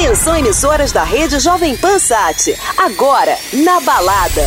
Atenção, emissoras da rede Jovem Pan Sat. Agora, na balada.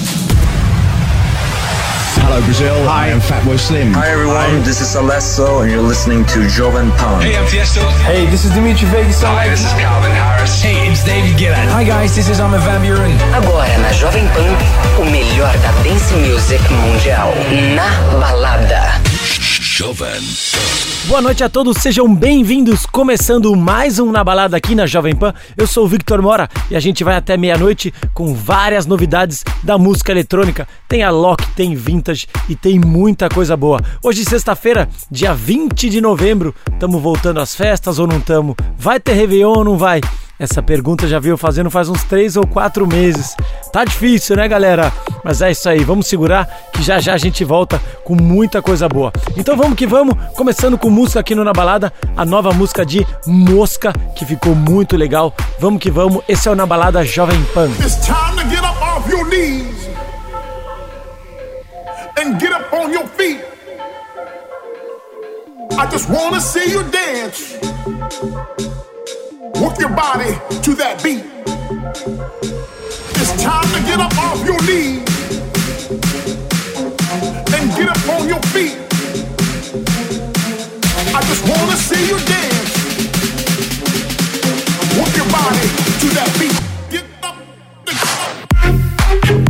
Hello Brazil, I am Fatboy Slim. Hi everyone, this is Alesso and you're listening to Jovem Pan. Hey, I'm Tiesto. Hey, this is Dimitri Vegas. Hi, this is Calvin Harris. Hey, it's David Guetta. Hi guys, this is Armin van Buuren. Agora na Jovem Pan, o melhor da dance music mundial. Na balada. Jovem. Boa noite a todos, sejam bem-vindos. Começando mais um Na Balada aqui na Jovem Pan. Eu sou o Victor Mora e a gente vai até meia-noite com várias novidades da música eletrônica. Tem a Lock, tem Vintage e tem muita coisa boa. Hoje, sexta-feira, dia 20 de novembro, estamos voltando às festas ou não estamos? Vai ter Réveillon ou não vai? Essa pergunta já veio fazendo faz uns 3 ou 4 meses. Tá difícil, né, galera? Mas é isso aí, vamos segurar que já já a gente volta com muita coisa boa. Então vamos que vamos, começando com música aqui no Na Balada, a nova música de Mosca, que ficou muito legal. Vamos que vamos, esse é o Na Balada Jovem Pan. It's time to get up off your knees and get up on your feet. I just wanna see you dance. Work your body to that beat. It's time to get up off your knees and get up on your feet. I just wanna see you dance. Work your body to that beat. Get up, get up.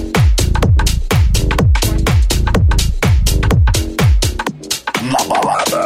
Na Balada.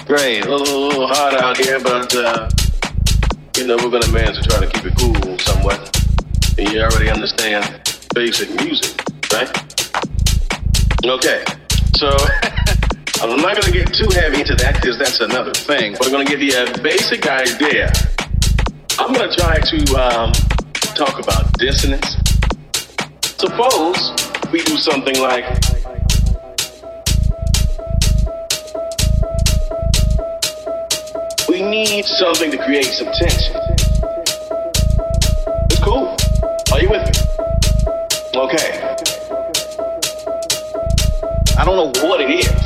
Great. A little hot out here, but, you know, we're going to manage to try to keep it cool somewhat. And you already understand basic music, right? Okay. So, I'm not going to get too heavy into that because that's another thing. But I'm going to give you a basic idea. I'm going to try to talk about dissonance. Suppose we do something like... We need something to create some tension. It's cool. Are you with me? Okay. I don't know what it is.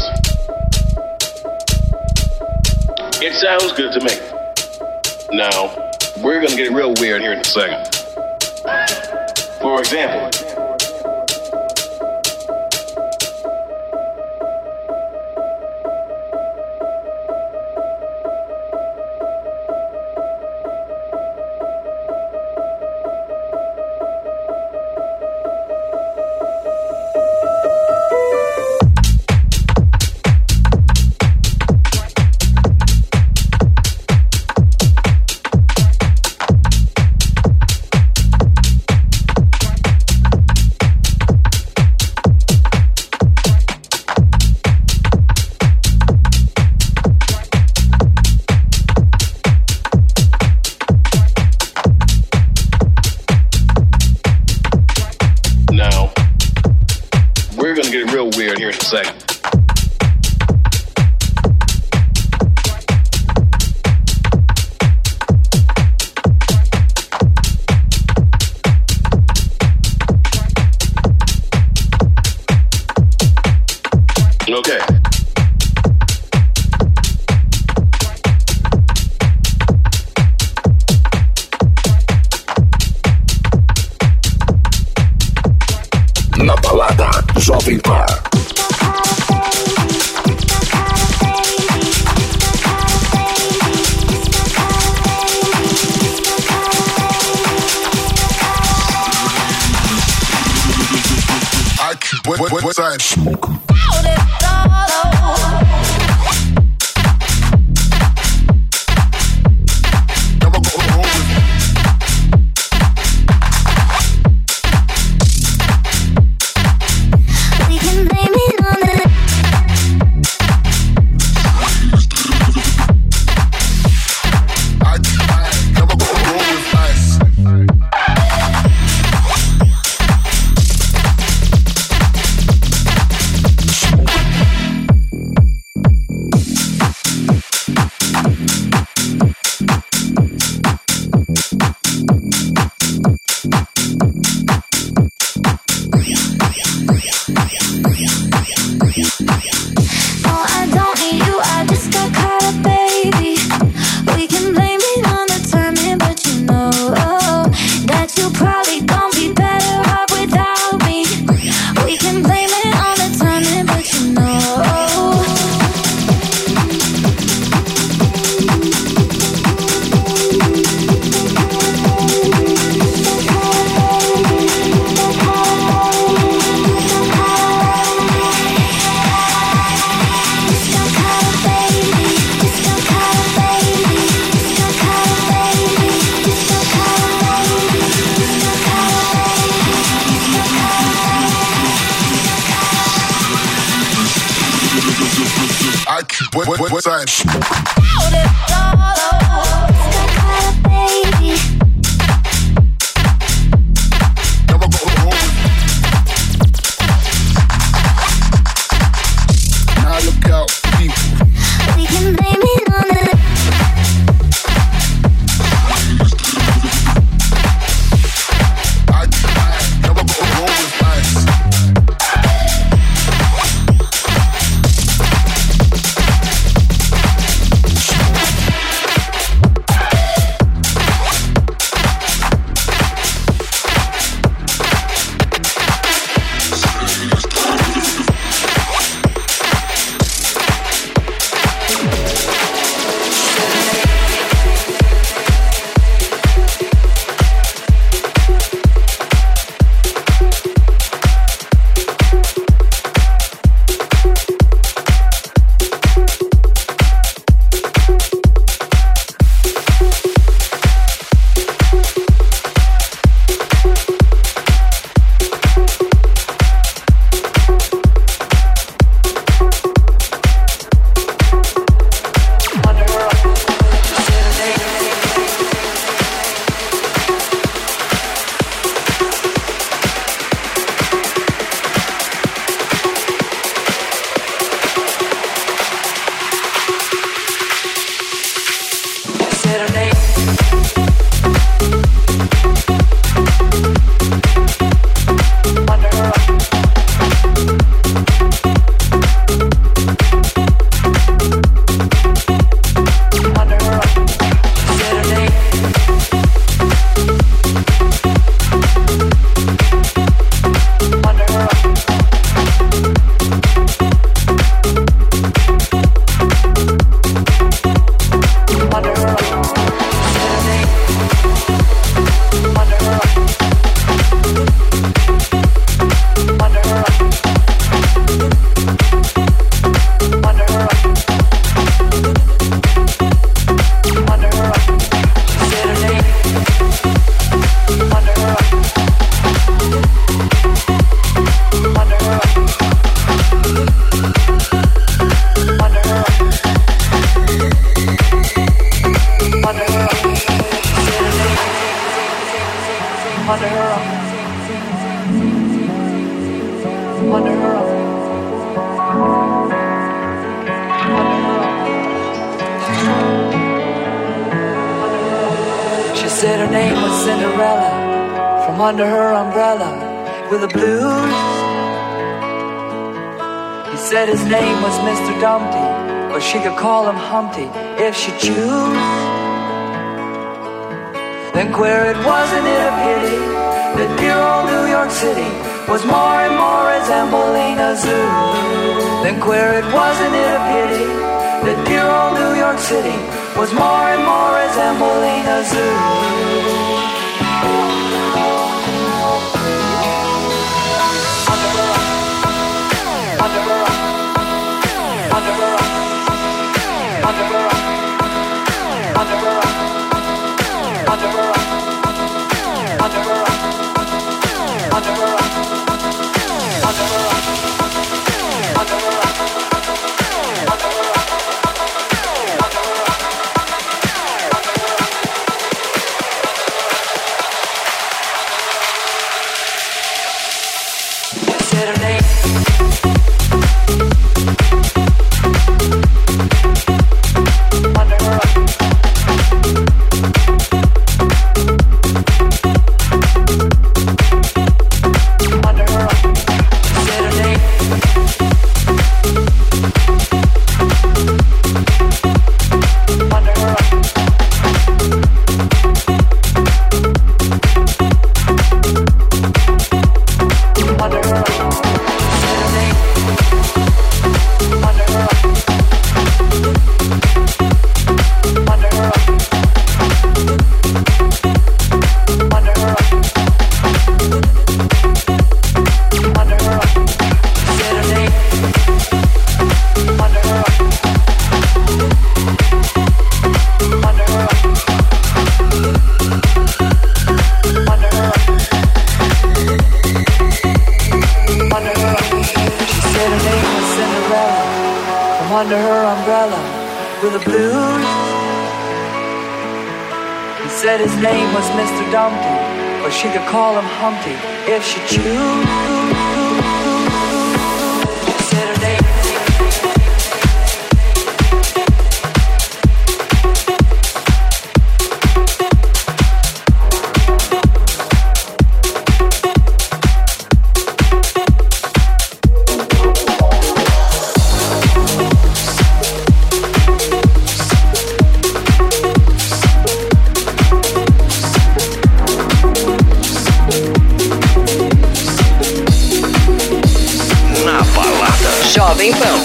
It sounds good to me. Now, we're going to get real weird here in a second. For example, second. Okay. Na balada Jovem Pan. What side? Smoke. What side? Now look out, people. We can blame it on the. I never go wrong with ice. under her under her She said her name was Cinderella, from under her umbrella with the blues. He said his name was Mr. Dumpty, but she could call him Humpty if she choose. Then queer it wasn't it a pity that dear old New York City was more and more resembling a zoo. Then queer it wasn't it a pity that dear old New York City was more and more resembling a zoo. Under her umbrella with the blues. He said his name was Mr. Dumpty, but she could call him Humpty if she choose. She said her name. Jovem Pan.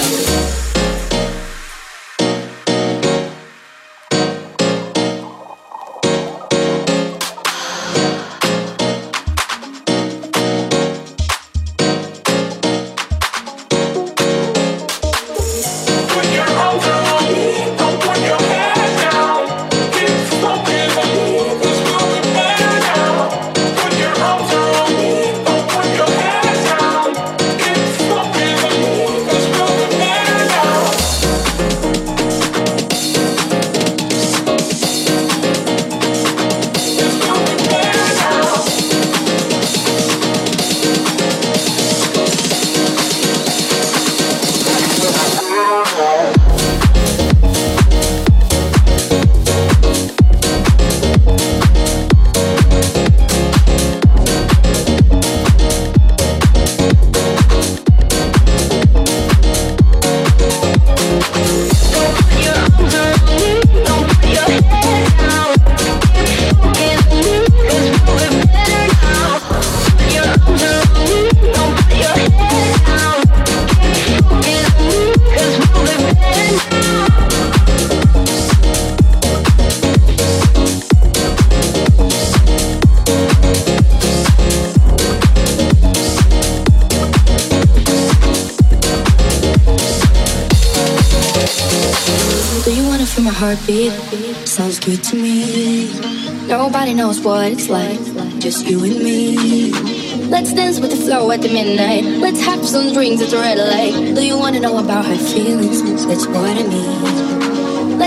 Heartbeat sounds good to me. Nobody knows what it's like, just you and me. Let's dance with the flow at the midnight. Let's have some drinks at the red light. Do you wanna know about her feelings? That's what I mean.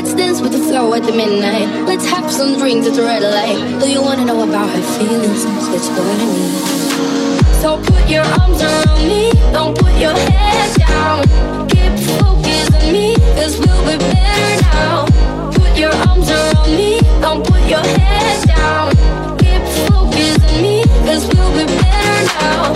Let's dance with the flow at the midnight. Let's have some drinks at the red light. Do you wanna know about her feelings? That's what I need. So put your arms around me. Don't put your head down. Keep focused on me, 'cause we'll be better now. Put your arms around me. Don't put your head down. Keep focused on me, 'cause we'll be better now.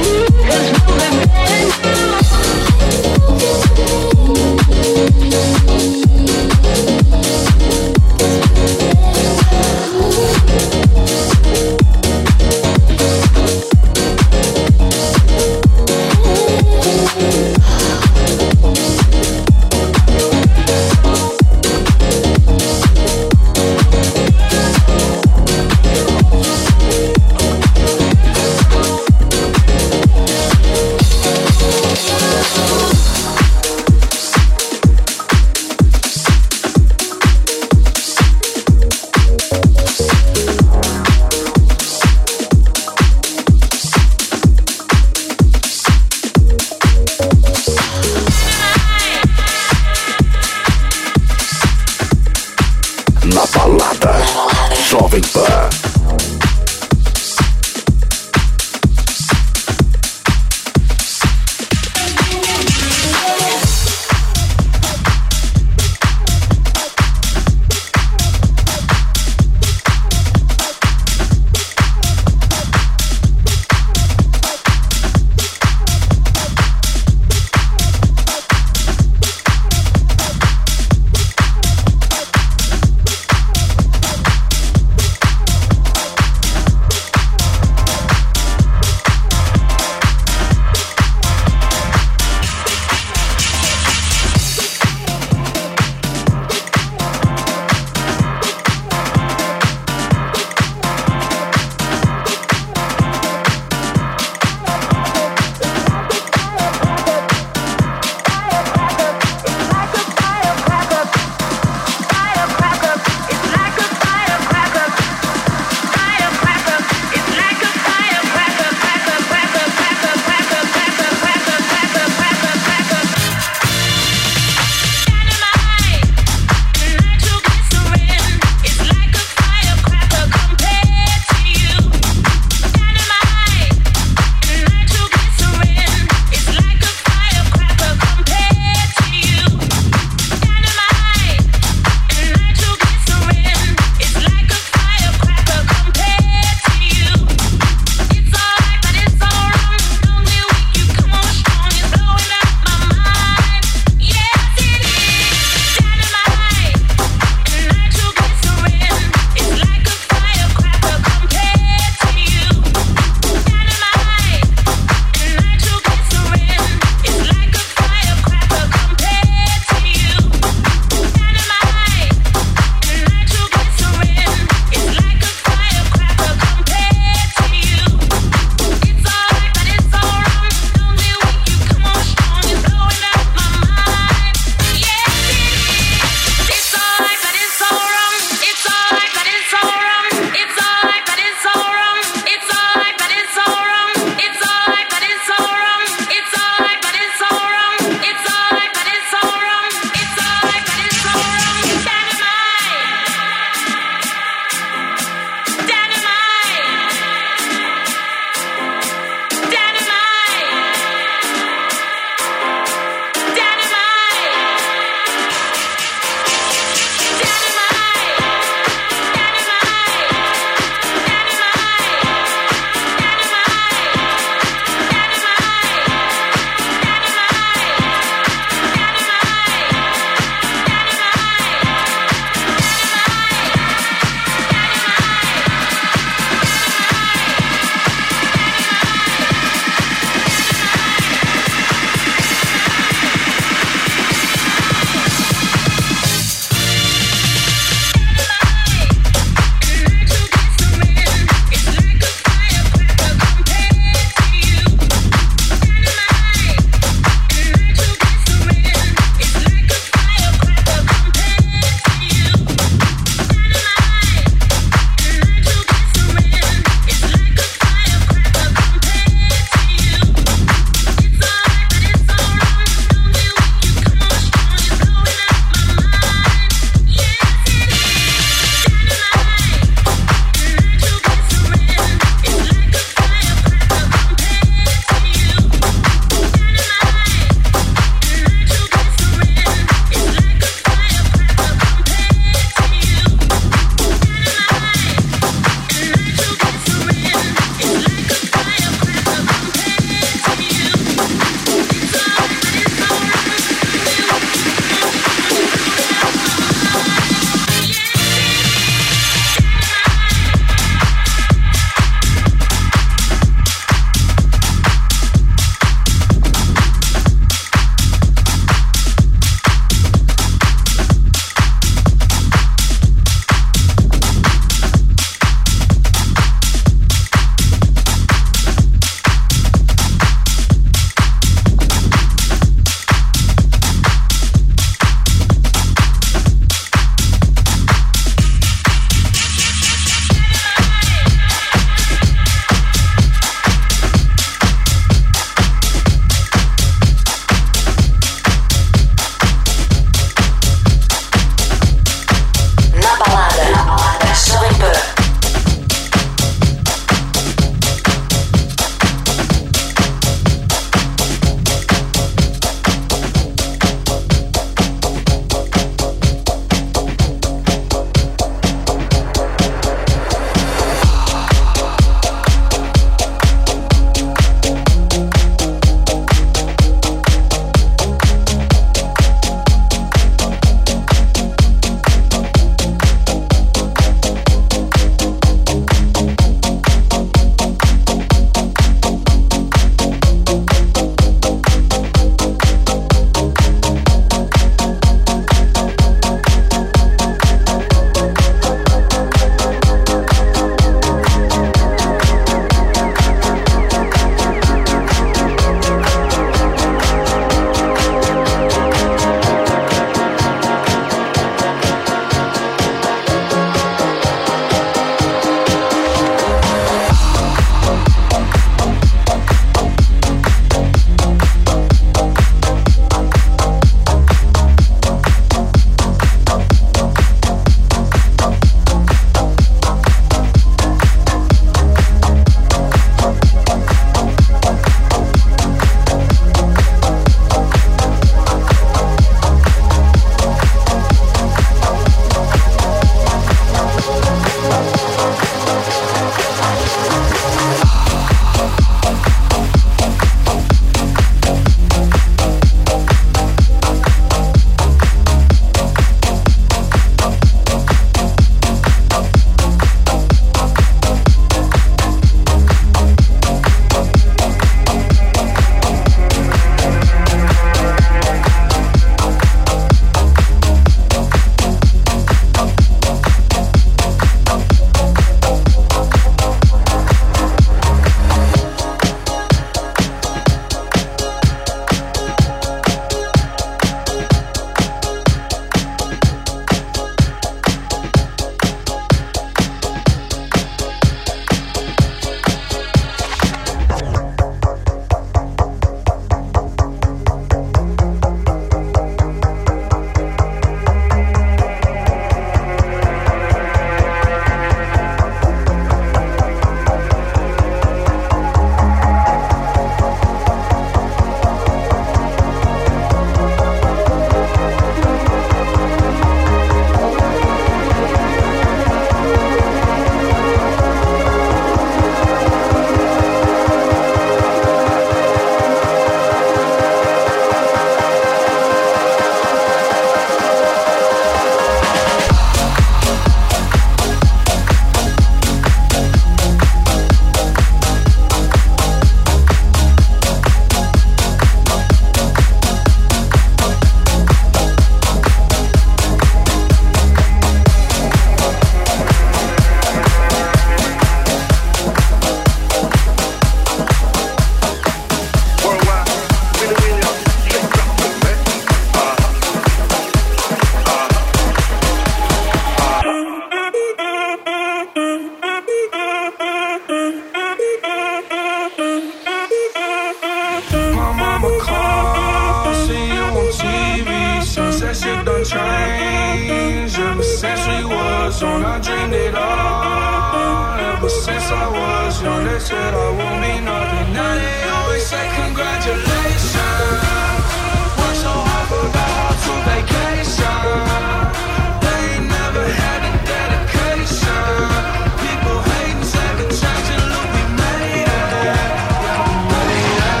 was young, I dreamed it all. Ever since I was young, they said I won't be nothing. Now they always say congratulations. Worked so hard, forgot how to vacation. They ain't never had the dedication. People hating, second change, and look, we made it. Yeah, we made it.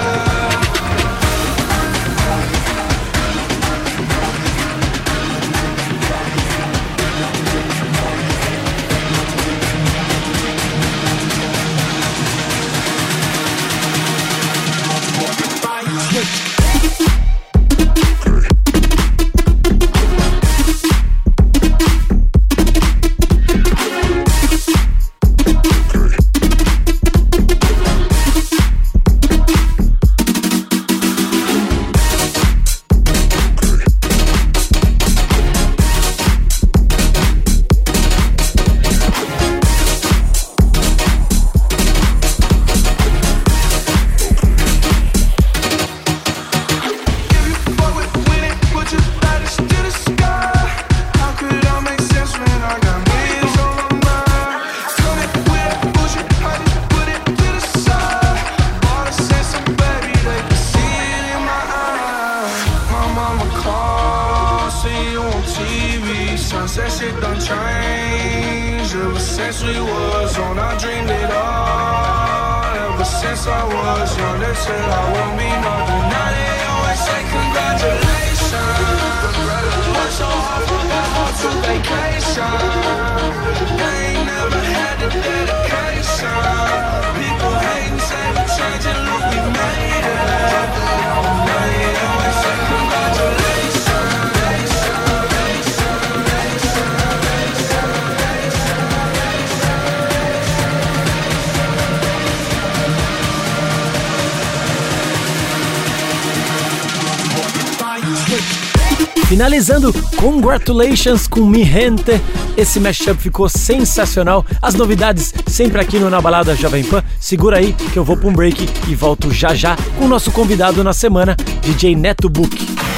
Finalizando, Congratulations com Mi Gente. Esse mashup ficou sensacional. As novidades sempre aqui no Na Balada Jovem Pan. Segura aí que eu vou pra um break e volto já já com o nosso convidado na semana, DJ Neto Book.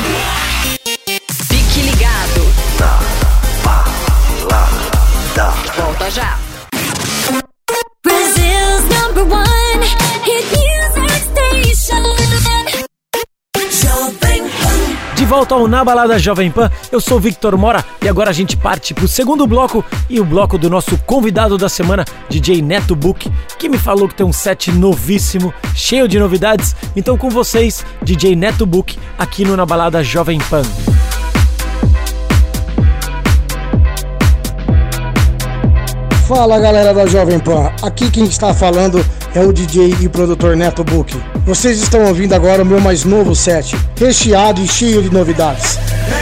Fique ligado. Na Balada. Volta já. Brazil's #1 hit music station. Jovem Pan. De volta ao Na Balada Jovem Pan, eu sou Victor Mora e agora a gente parte pro segundo bloco e o bloco do nosso convidado da semana, DJ Neto Book, que me falou que tem um set novíssimo, cheio de novidades. Então com vocês, DJ Neto Book, aqui no Na Balada Jovem Pan. Fala galera da Jovem Pan, aqui quem está falando é o DJ e produtor Neto Book. Vocês estão ouvindo agora o meu mais novo set, recheado e cheio de novidades.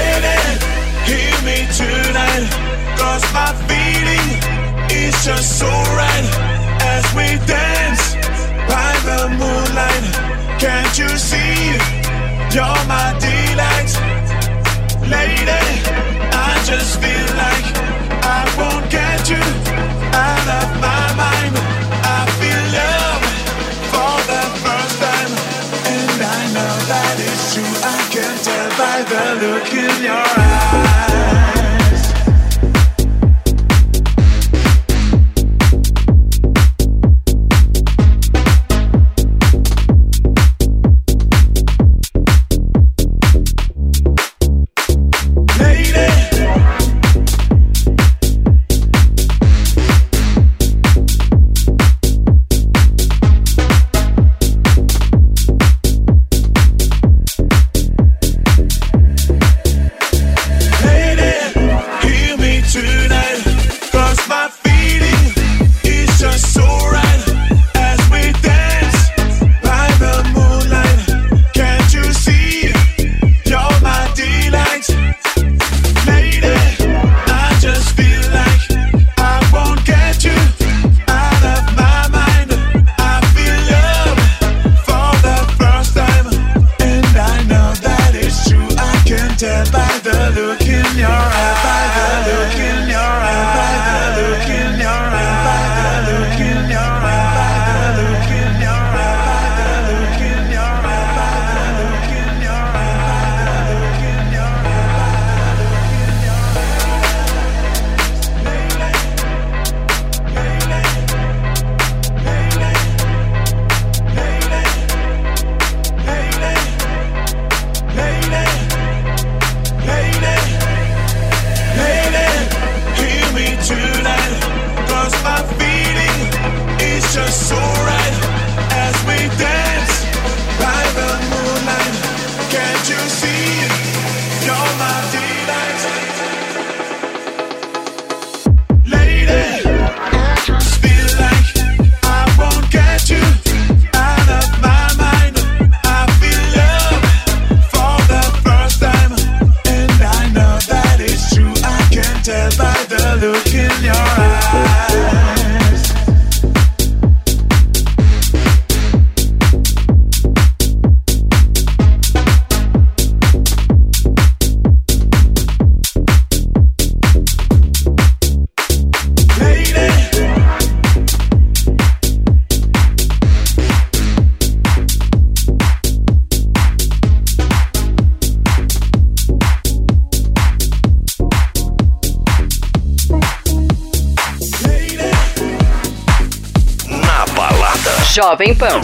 Out of my mind, I feel love for the first time, and I know that it's true. I can tell by the look in your eyes. Lady, the look in your eyes. Jovem Pan.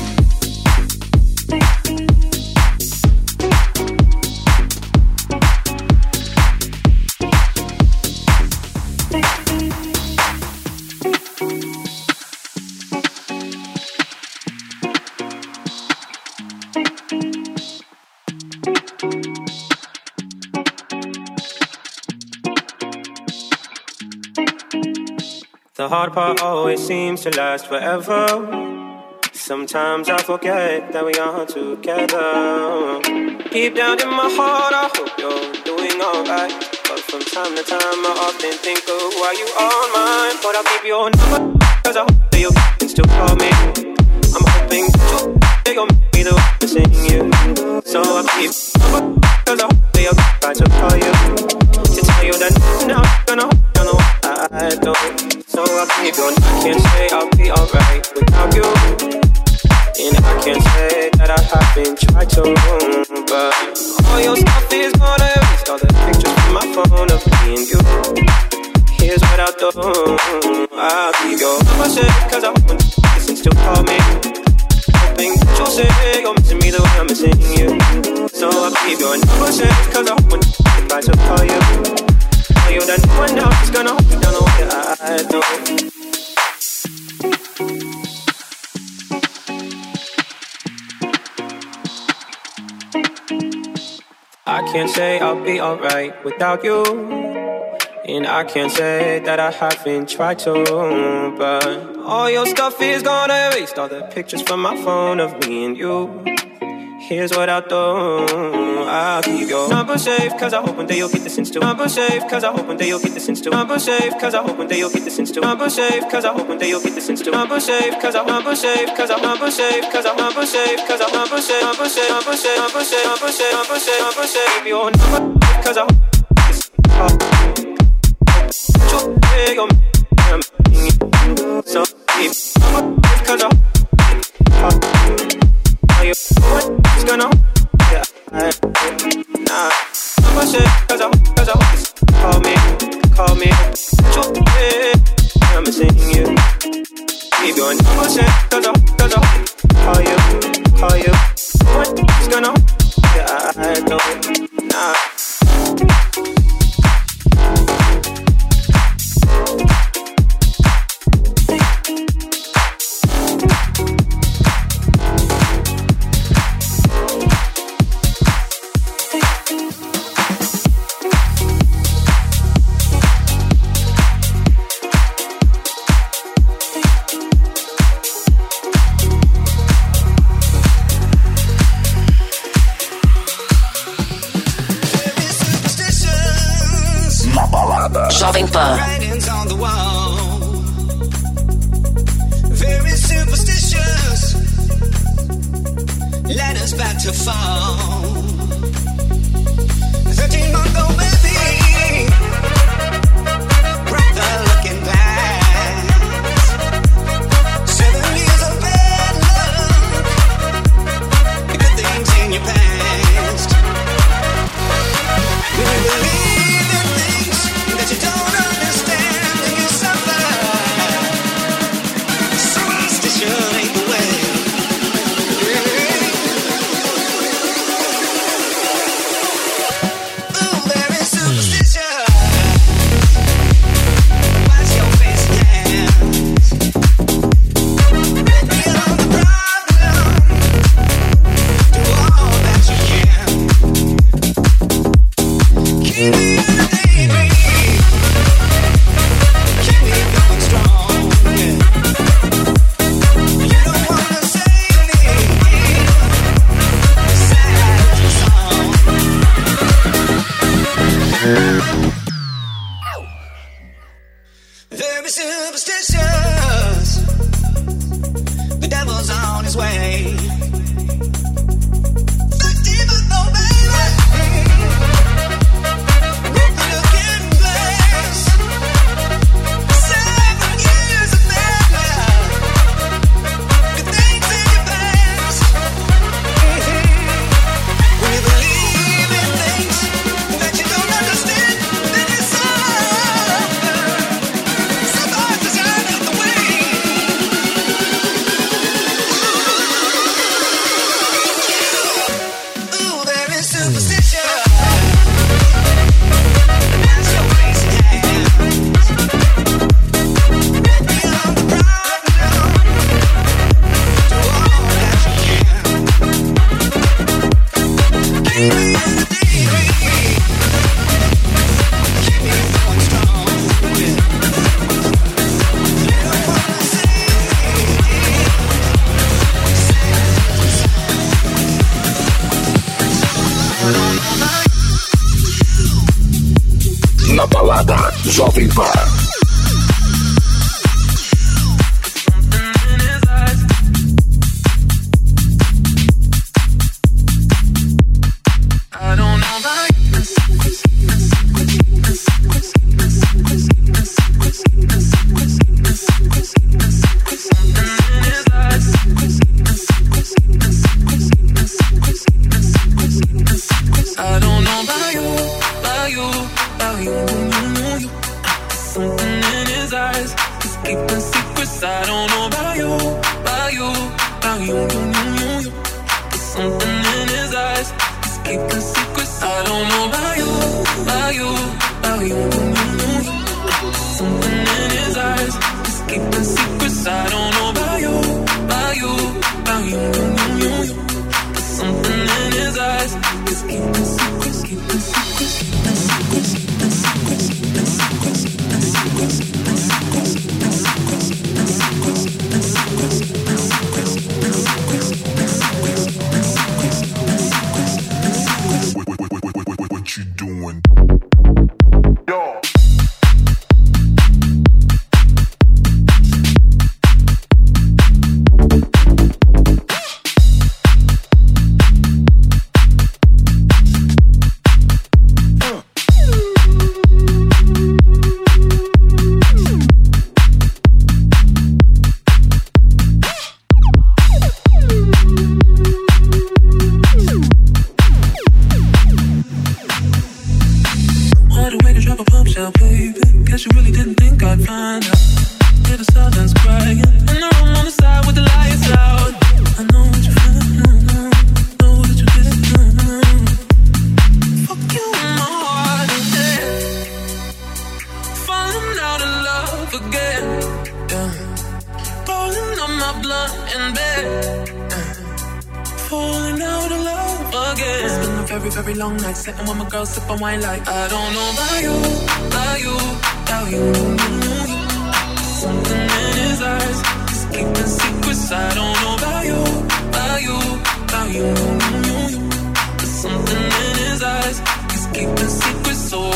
The hard part always seems to last forever. Sometimes I forget that we are together. Deep down in my heart, I hope you're doing alright. But from time to time, I often think of why you are mine. But I'll keep your number, cause I hope that you can still call me. I'm hoping that you'll be the one to sing you. So I'll keep your number, cause I hope that you'll try to call you. To tell you that now I'm gonna hold on the one I don't. So I'll keep your number, can't say I'll be alright without you. And I can't say that I haven't tried to, but all your stuff is gonna erase all the pictures from my phone of me and you. Here's what I'll do, I'll keep your number safe, cause I want you to listen, still call me. Hoping that you'll say you're missing me the way I'm missing you. So I'll keep your number safe, cause I want you to try to call you. Tell you that no one else is gonna hold you down the way I do. I can't say I'll be alright without you. And I can't say that I haven't tried to, but all your stuff is gonna erase all the pictures from my phone of me and you. Here's what I'll do, I'll keep your number safe, cause I hope one day you'll get the sense to. Number safe, cause I hope one day you'll get the sense to. Number safe, cause I hope one day you'll get the sense to. Number safe, cause I hope one day you'll get the sense to. Number safe, cause I number safe, cause I number safe, cause I number safe, cause I number safe, number safe, number safe, number safe, number safe, number safe, number safe. Keep your number, cause I so keep cause I you what's gonna nah number safe, cause I call me I'm missing you. Keep your number safe, cause I call you what's gonna I don't nah. Jovem Pan. Writings on the wall. Very superstitious. Led us back to fall. 13-month-old baby. Brother looking back. 7 years of bad luck. Good things in your past. We believe in things that you don't understand and you suffer. Superstition ain't the way. Ooh, there is superstition. be superstitious. The devil's on his way. Na balada Jovem Pan. Sitting with my girl, sipping wine like I don't know about you, about you, about you. Something in his eyes, he's keeping secrets. I don't know about you, about you, about you. There's something in his eyes, he's keeping secrets. So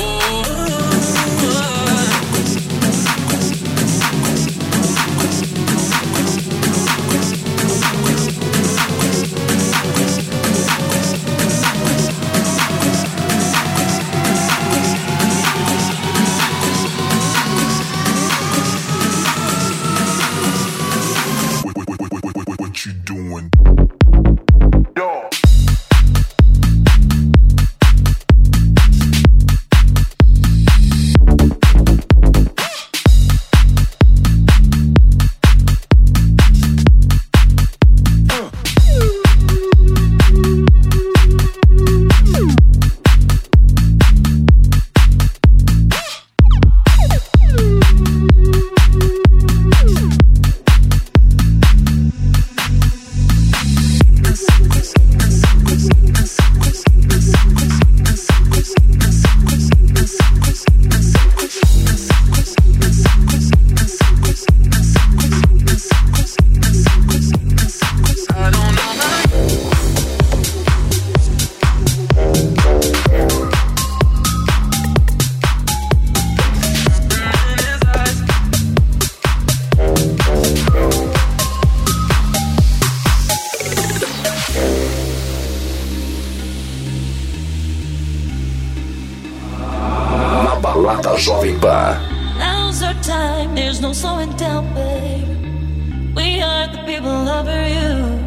Jovem Pan. Now's our time, there's no slowing down, babe. We are the people over you.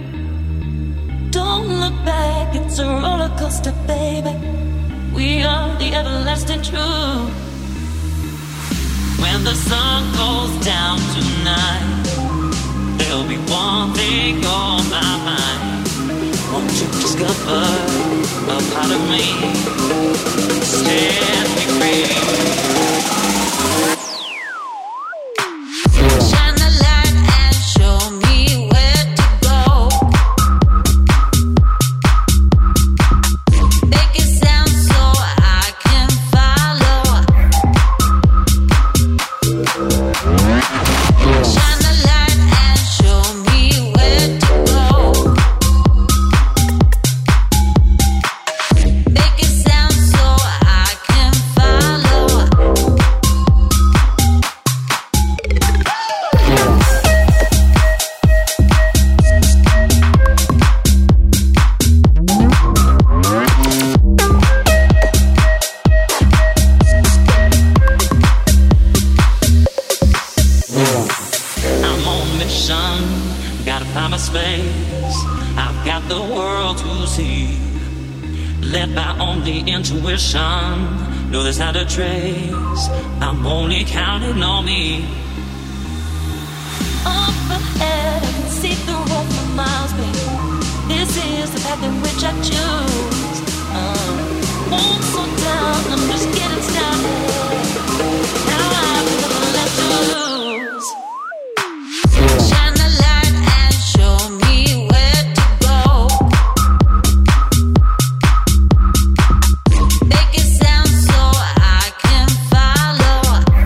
Don't look back, it's a roller coaster, baby. We are the everlasting truth. When the sun goes down tonight, there'll be one thing on my mind. Won't you discover a part of me? Set me free. Shine the light and show me where to go. Make it sound so I can follow. Shine the light and show me where to go. Make it sound so I can follow. I'm on a mission, gotta find my space. I've got the world to see. Led by only intuition, know there's not a trace. I'm only counting on me. Up ahead, I can see the road for miles, baby. This is the path in which I choose. Won't slow down, I'm just getting started. Now I've nothing left to lose. Shine the light and show me where to go. Make it sound so I can follow.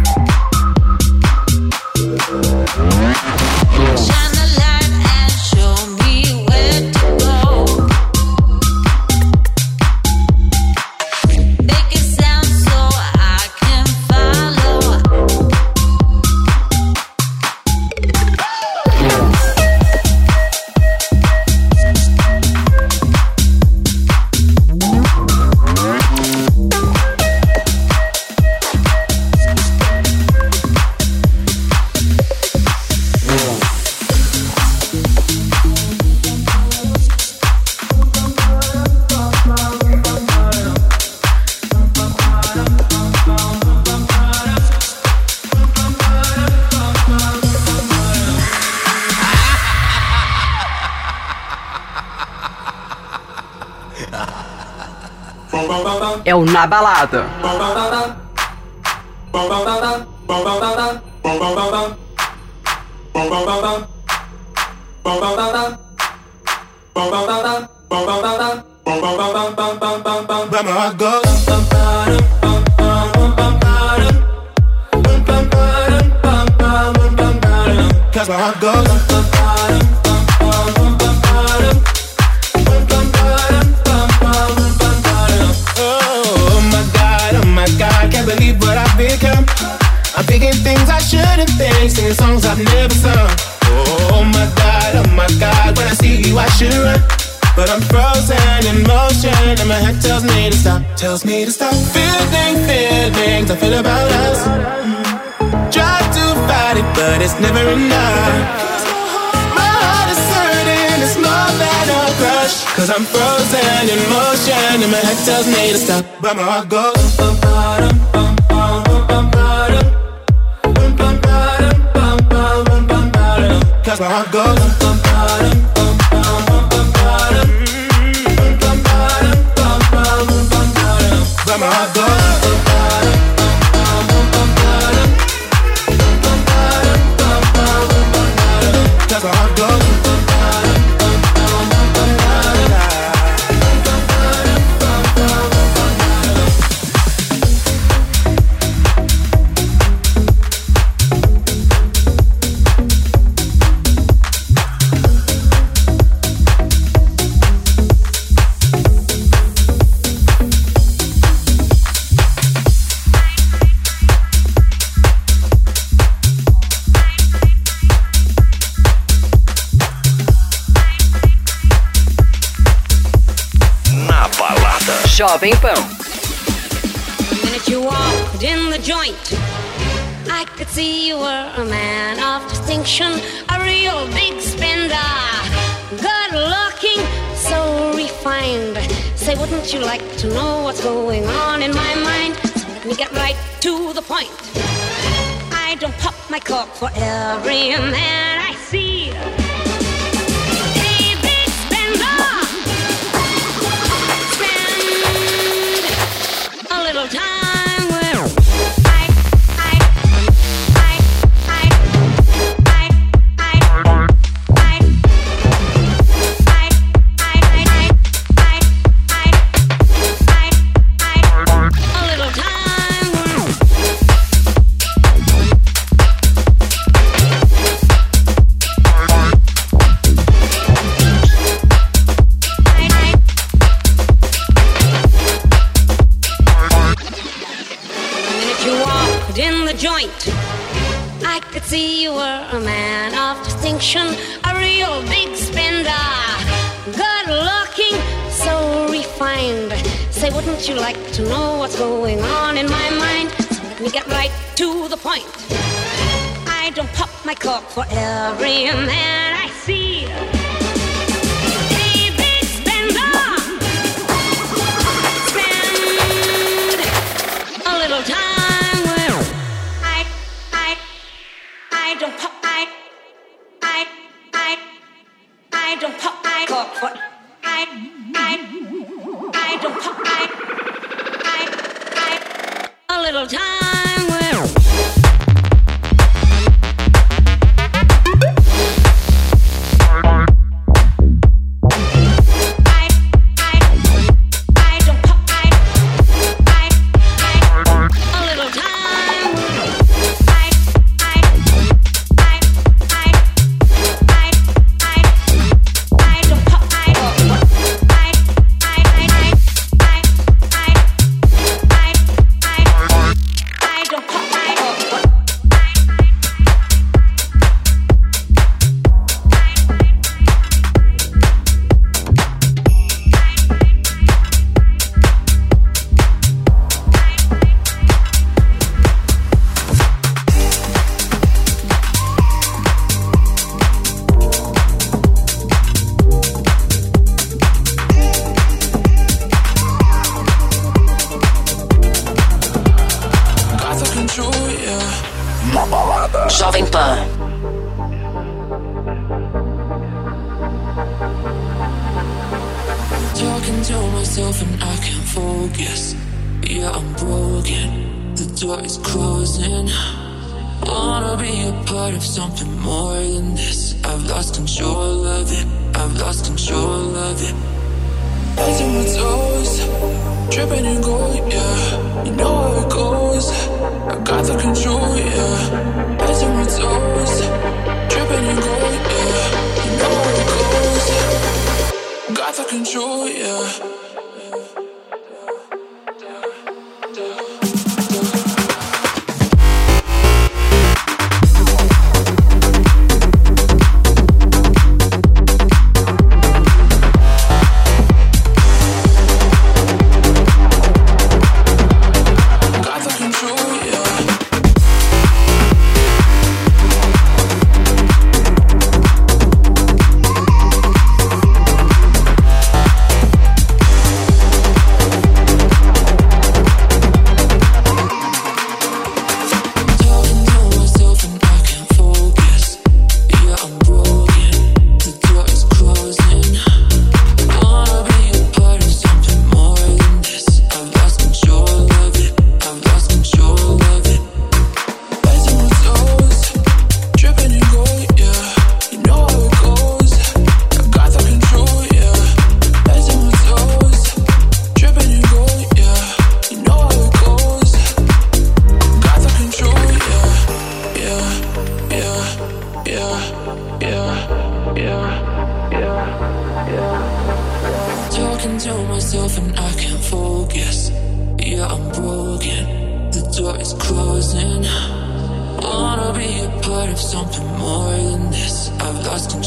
Shine the light and show me where to go. Make it sound so I can follow. É o Na Balada. Cause my heart goes. Oh my God, can't believe what I've become. I'm thinking things I shouldn't think, singing songs I've never sung. Oh my God, when I see you I should run. But I'm frozen in motion and my head tells me to stop. Feeling feelings I feel about us. Try to fight it, but it's never enough. My heart is hurting, it's more than a crush. Cause I'm frozen in motion and my head tells me to stop. But my heart goes. Cause my heart goes. But my heart goes. Cause my heart goes. Jovem Pan. The minute you walked in the joint. I could see you were a man of distinction, a real big spender, good looking, so refined. Say, wouldn't you like to know what's going on in my mind? So let me get right to the point. I don't pop my cork for every man I see. Hey, big spender, spend a little time with joint. I could see you were a man of distinction, a real big spender, good looking, so refined. Say, wouldn't you like to know what's going on in my mind? So let me get right to the point. I don't pop my cork for every man I see. Hey, big spender, spend a little time. I don't pop my cork for I don't pop my a little time with Jovem Pan. Talking to myself and I can't focus. Yeah, I'm broken. The door is closing. Wanna be a part of something more than this. I've lost control of it. I've lost control of it. Eyes on my toes, tripping and going, yeah. You know how it goes. I got the control, yeah. Eyes on my toes, tripping and going, yeah. You know how it goes. Got the control, yeah.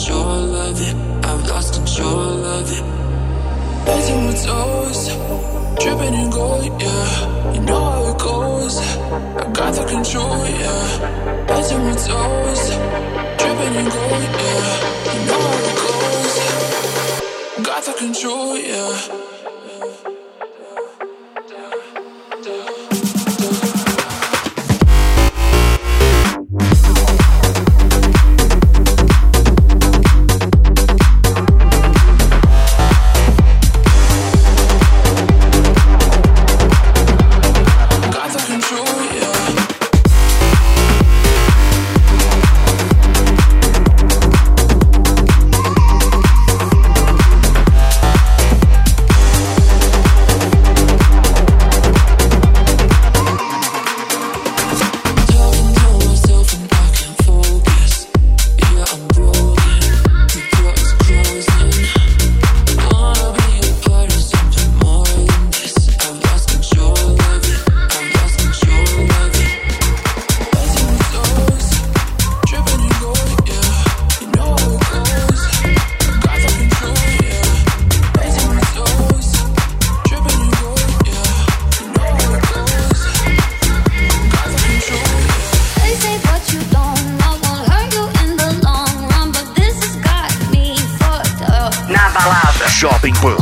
Eyes on my toes, dripping in gold, yeah. You know how it goes. I got the control, yeah. Heads on my toes, dripping in gold, yeah. You know how it goes. Got the control, yeah. Jovem Pan.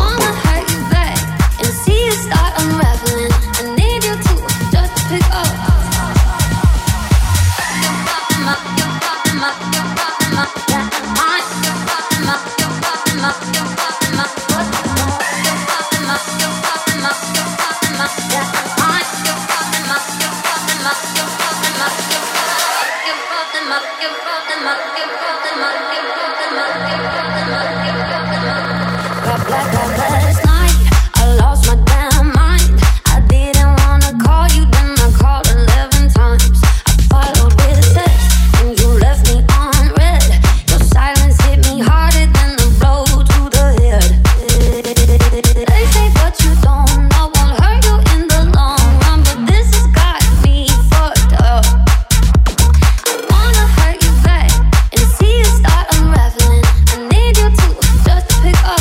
Last night, I lost my damn mind. I didn't wanna call you, then I called 11 times. I followed with a text, and you left me on red. Your silence hit me harder than the blow to the head. They say what you don't know won't hurt you in the long run, but this has got me fucked up. I wanna hurt you back and see you start unraveling. I need you to just pick up.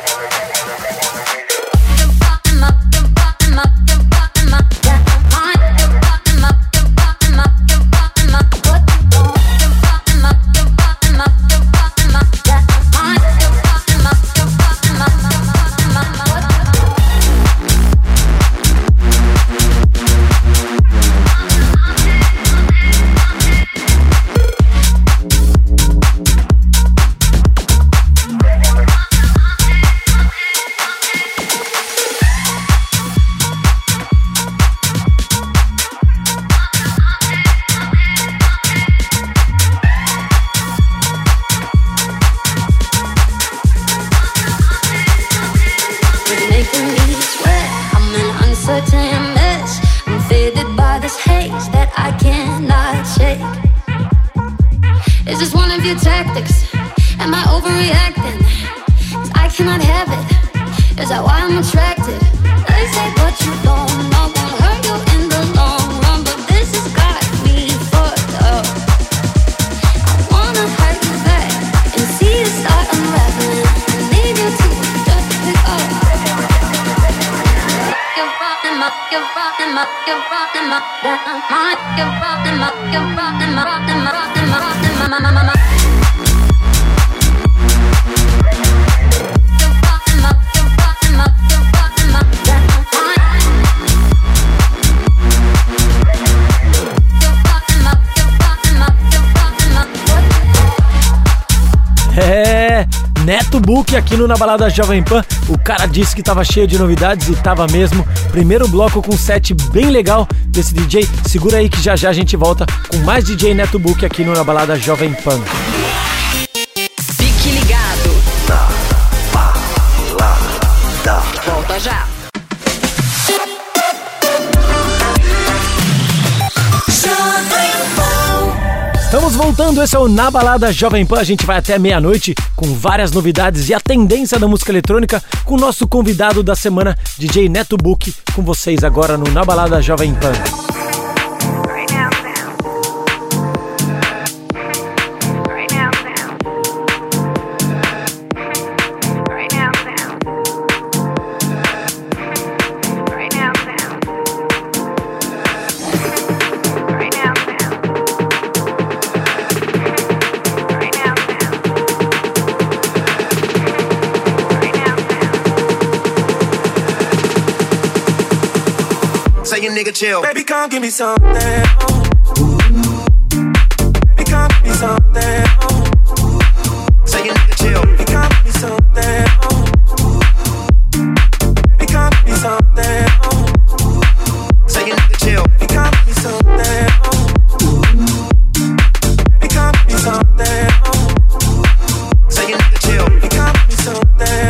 Is this one of your tactics? Am I overreacting? 'Cause I cannot have it. Is that why I'm attracted? They say what you don't know won't hurt you in the long run, but this has got me fucked up. I wanna hurt you back and see you start unraveling. I need you to just pick up. You're rocking my, you're rocking my, you're rocking my mind. You're rocking my, you're rocking my, rocking my, rocking my, rocking my. É, Neto Book aqui no Na Balada Jovem Pan. O cara disse que tava cheio de novidades e tava mesmo. Primeiro bloco com um set bem legal desse DJ. Segura aí que já já a gente volta com mais DJ Neto Book aqui no Na Balada Jovem Pan. Fique ligado. Na Balada. Volta já. Estamos voltando, esse é o Na Balada Jovem Pan. A gente vai até meia-noite com várias novidades e a tendência da música eletrônica com o nosso convidado da semana, DJ Neto Book, com vocês agora no Na Balada Jovem Pan. nigga chill. Baby, come give me something. Baby, come give me something. Say your nigga chill. Baby, come give me something. Baby, come give me something. Say your nigga chill. Baby, come give me something. Baby, come give me something. Say your nigga chill. Baby, come give me something.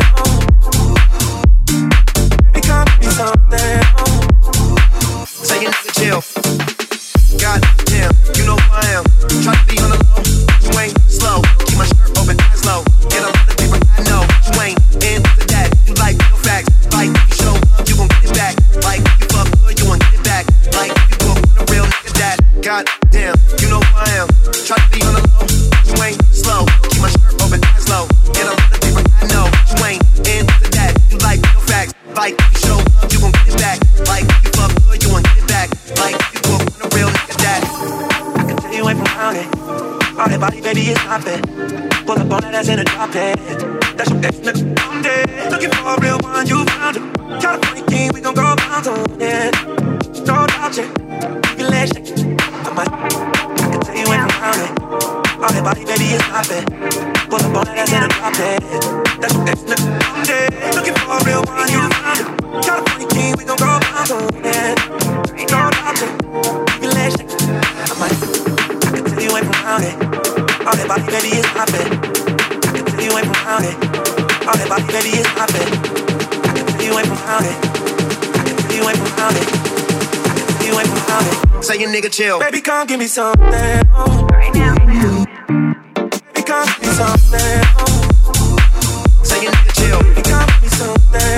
Baby, come give me something. Say your nigga chill. Goddamn, you know who I am. Try to be on the low, you ain't slow. Keep my shirt open, eyes low. Get a lot of people I know. You ain't into that. You like real facts. Like if you show love, you gon' get it back. Like if you fuck good, you gon' get it back. Like if you fuck with a real nigga that. Goddamn, you know who I am. Try to be on the low, you ain't slow. Keep my shirt open, eyes low. Get a lot of people I know. You ain't into that. You like real facts. Like if you show love, you gon' get it back. Like if you fuck good, you gon' get it back. Like if you fuck with a real nigga that. I can tell you ain't from around it. All that body, baby, is poppin'. Pull up on that ass in a drop head. That's your ex, nigga, I'm dead. Looking for a real one, you found it. California king, we gon' go pounds on it. No doubt, yeah. Keep your legs shake. I can tell you ain't from around it. All that body, baby, is poppin'. Pull up on that ass in a drop head. That's your ex, nigga, I'm dead. Looking for a real one, you found it. California king, we gon' go pounds on it. No doubt, yeah. Keep your legs shake. I can tell you ain't from around it. All that body, baby, is poppin'. I can tell you ain't from around it. All that body, baby, is poppin'. I can tell you ain't from around it. I can tell you ain't from around it. I can tell you ain't from around it. Say your nigga chill. Baby, come give me something. Right now. Baby, come give me something. Say your nigga chill. Baby, come give me something.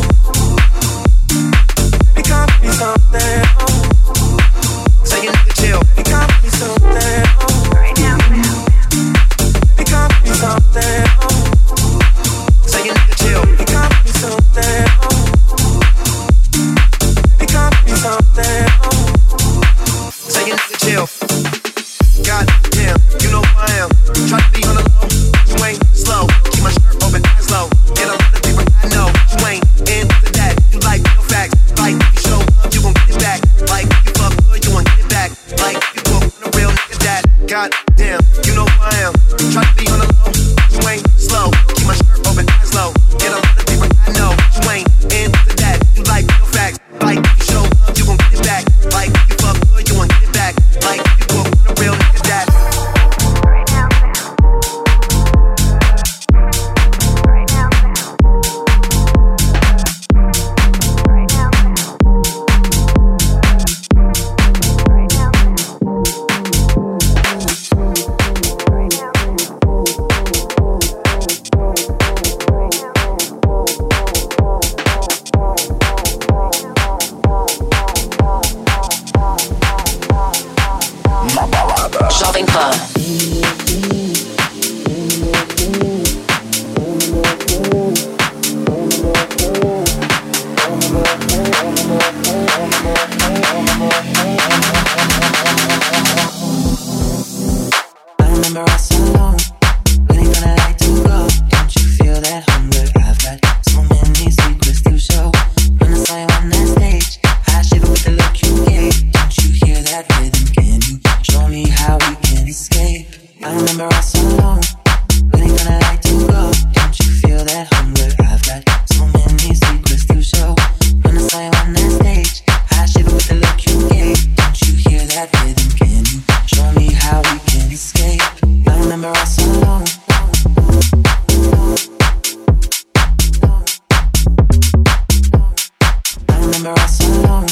Baby, come give me something. Say your nigga chill. Baby, come give me something. Right now. Baby, come give me something. Say your nigga chill. Baby, come give me something. Baby, come give me something. Say your nigga chill. Goddamn, you know who I am. Try to be on the low, you ain't slow. Keep my shirt open, eyes low. Get a lot of people I know. You ain't into that. You like real facts. Like if you show love, you gon' get it back. Like if you fuck good, you gon' get it back. Like if you fuck with a real nigga that. Goddamn, you know who I am. Try to be on the low, you ain't slow. Keep my shirt open, eyes low. Get a lot of people I know. You ain't into that. You like real facts. Like if you show love, you gon' get it back. Like if you fuck good, you gon' get it back. Like if you fuck with a real nigga that. Jovem Pan. I remember us so long, waiting for the light to go. Don't you feel that hunger? I've got so many secrets to show. When I saw you on that stage, I shivered with the look you gave. Don't you hear that rhythm? Can you show me how we can escape? I remember us so long, waiting for the light to go. Don't you feel that hunger? I've got so many secrets to show. When I saw you on that stage, I shivered with the look you gave. Don't you hear that rhythm? Can you show me how we can escape? I remember us so long. I remember us so long.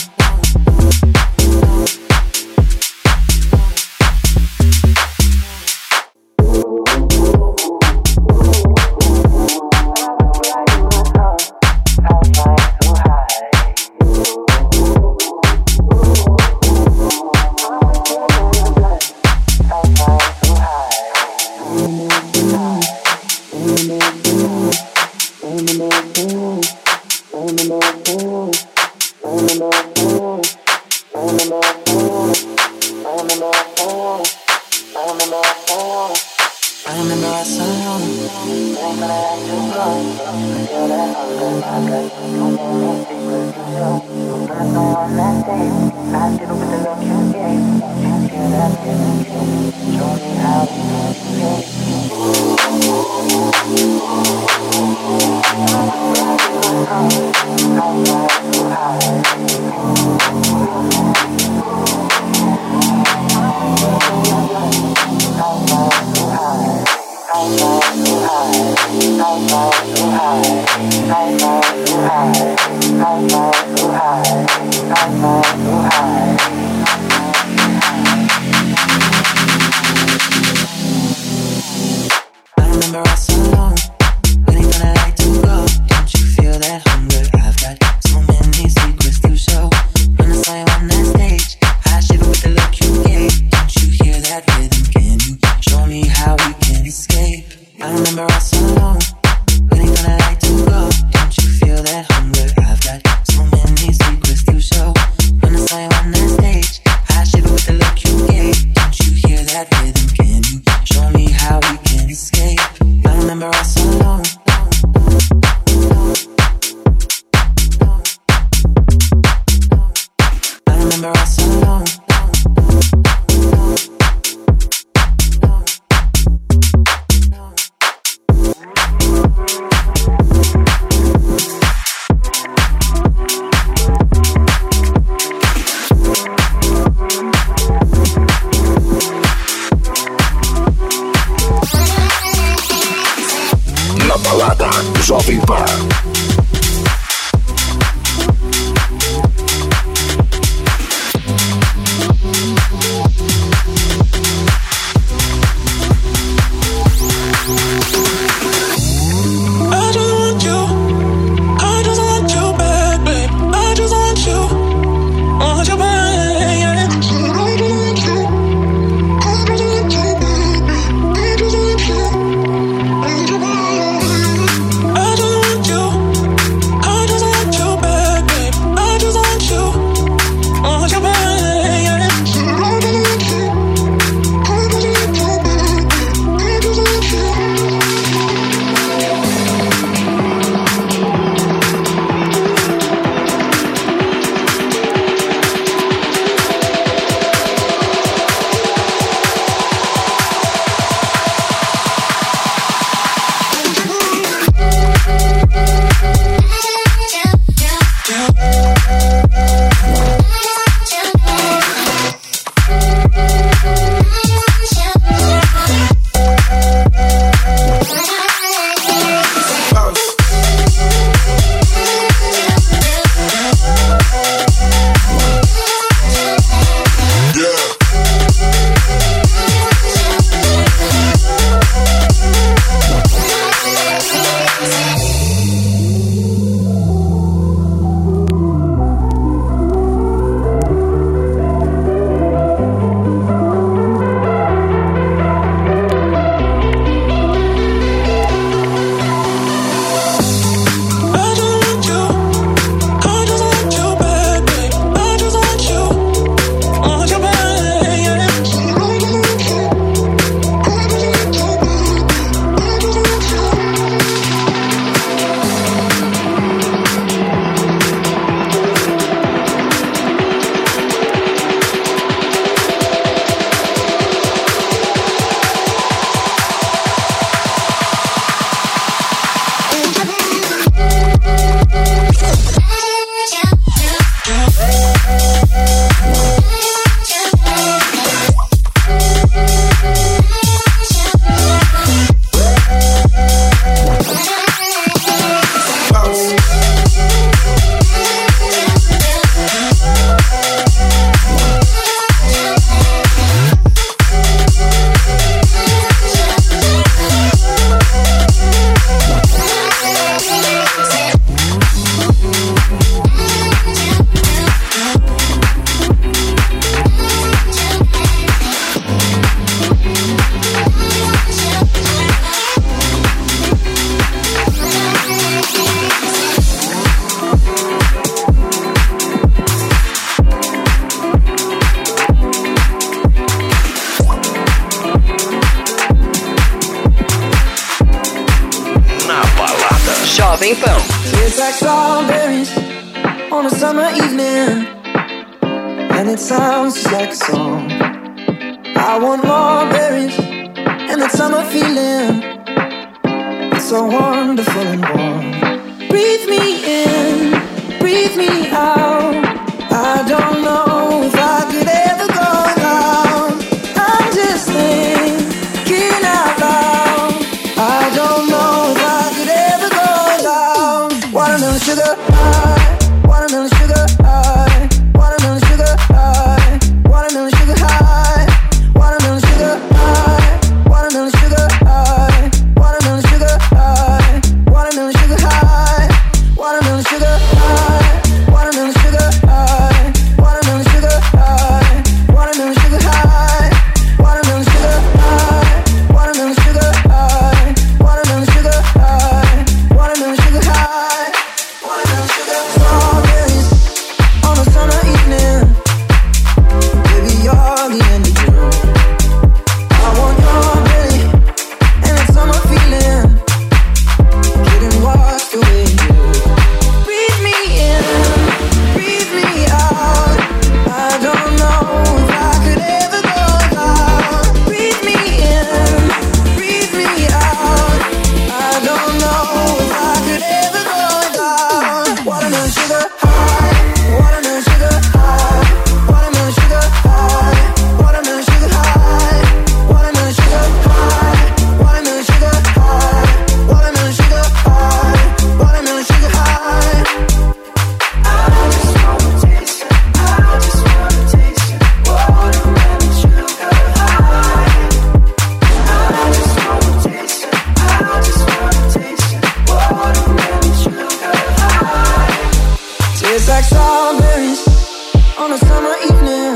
I Jovem Pan. I just want you. Jovem Pan. It's like strawberries on a summer evening, and it sounds just like a song. I want more berries and that summer feeling. It's so wonderful and warm. Breathe me in, breathe me out. I don't know if I could ever go without. I'm just thinking out loud. I don't know if I could ever go without. Watermelon sugar high, watermelon sugar high, watermelon sugar high, watermelon sugar high, watermelon sugar high, watermelon sugar high, watermelon sugar high, watermelon sugar high, watermelon sugar high, watermelon sugar high, watermelon sugar high, watermelon sugar high, watermelon sugar high, watermelon sugar high, watermelon sugar high, watermelon sugar high, watermelon sugar. Strawberries on a summer evening, baby you're the end of June. I want your belly and that summer feeling, getting washed away in you. Breathe me in, breathe me out. I don't know if I could ever go without. Breathe me in, breathe me out. I don't know if I could ever go without. Watermelon sugar high, watermelon sugar high, watermelon sugar high, watermelon sugar high, watermelon sugar high, watermelon sugar high, watermelon sugar high, watermelon sugar high. I just wanna taste it, I just wanna taste it, watermelon sugar high. I just wanna taste it, I just wanna taste it, watermelon sugar high. Tastes like strawberries on a summer evening,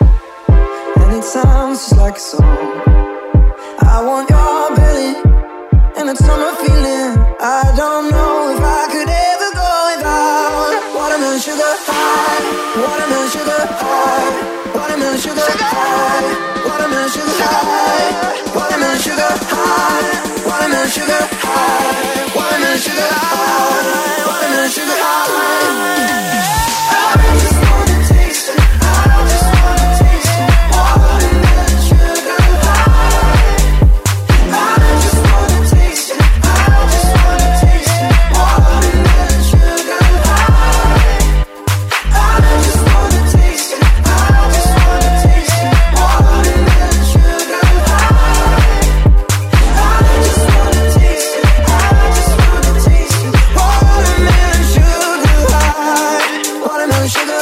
and it sounds just like a song. I want your belly and that summer feeling. I don't know if I could ever go without. Watermelon sugar high, watermelon sugar high, watermelon sugar high, watermelon sugar high, watermelon sugar high, watermelon sugar high, watermelon sugar high, watermelon sugar high. I just wanna taste it, I just wanna taste it, watermelon sugar high. I just wanna taste it, I just wanna taste it, watermelon sugar high. I just wanna taste it, I just wanna taste it, watermelon sugar high. I just wanna taste it, I just wanna taste it, watermelon sugar high, watermelon sugar.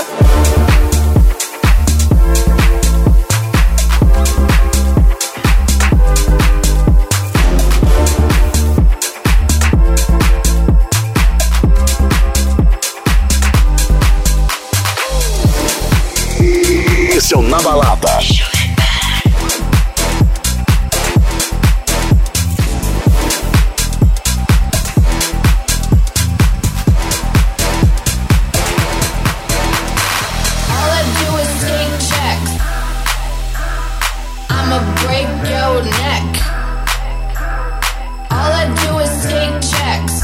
Esse é o Na Balada. All I do is take checks. I'ma break your neck. All I do is take checks.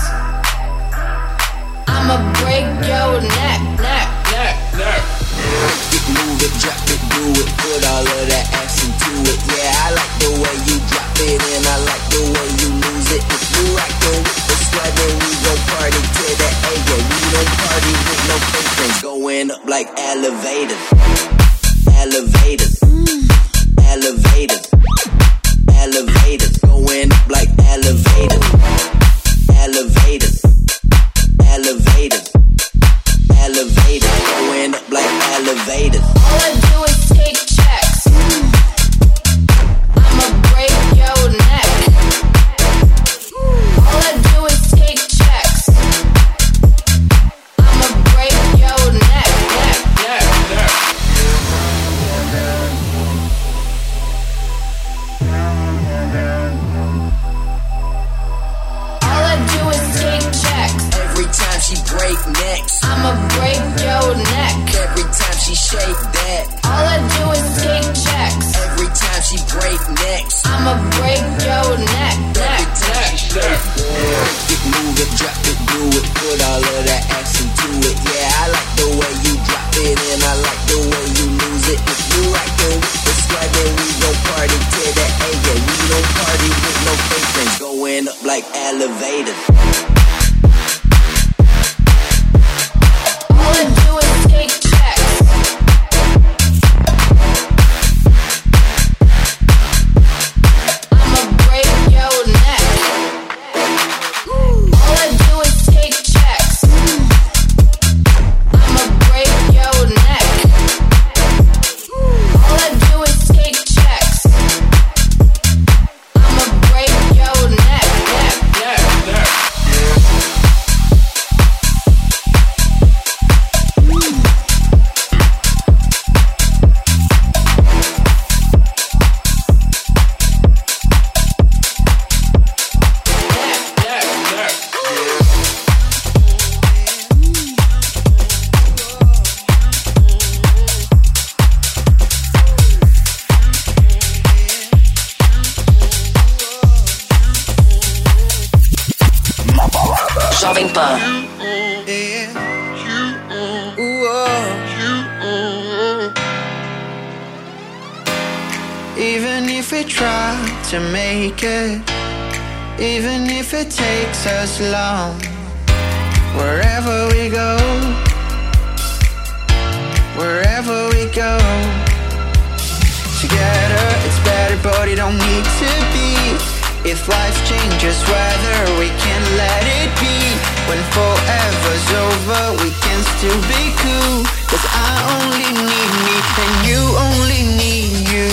I'ma break your neck, neck, neck, neck. Move it, drop it, do it, put all of that action to it. Yeah, I like the way you drop it and I like the way you lose it. If you rockin' with the swag, then we gon' party to the A. Yeah, we don't party with no fake friends. Going up like elevators, elevators, elevators, elevators. Going up like elevators, elevators, elevators, elevators. Going up like elevators. All I do is take checks. I'ma break your neck. All I do is take checks. I'ma break your neck, neck, neck, neck. All I do is take checks. Every time she break necks, I'ma break your neck. every time she shake that. All I do is take checks. Every time she break necks, I'ma break your neck, neck, neck, neck. It, move it, drop it, do up like elevators. All I do is take checks. I'ma break your neck. All I do is take checks. I'ma break your neck. All I do is take checks. I'ma break your neck. Jovem Pan. Even if we try to make it, even if it takes us long, wherever we go, together it's better, but it don't need to be. If life changes weather, we can let it be. When forever's over, we can still be cool. 'Cause I only need me, and you only need you.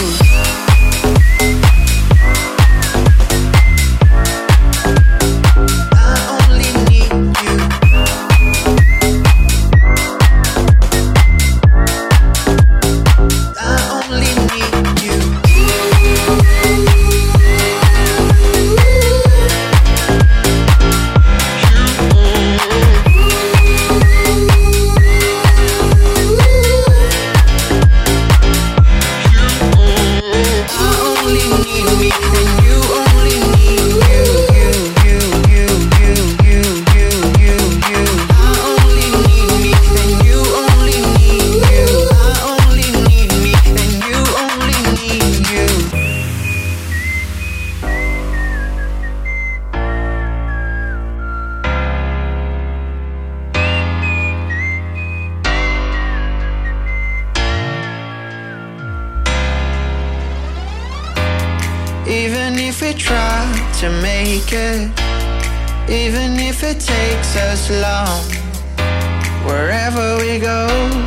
Even if we try to make it, even if it takes us long, wherever we go,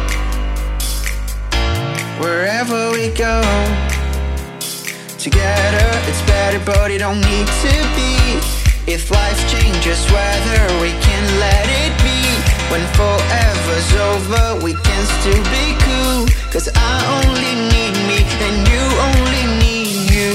together it's better, but it don't need to be. If life changes weather, we can let it be. When forever's over, we can still be cool. 'Cause I only need me, and you only need you.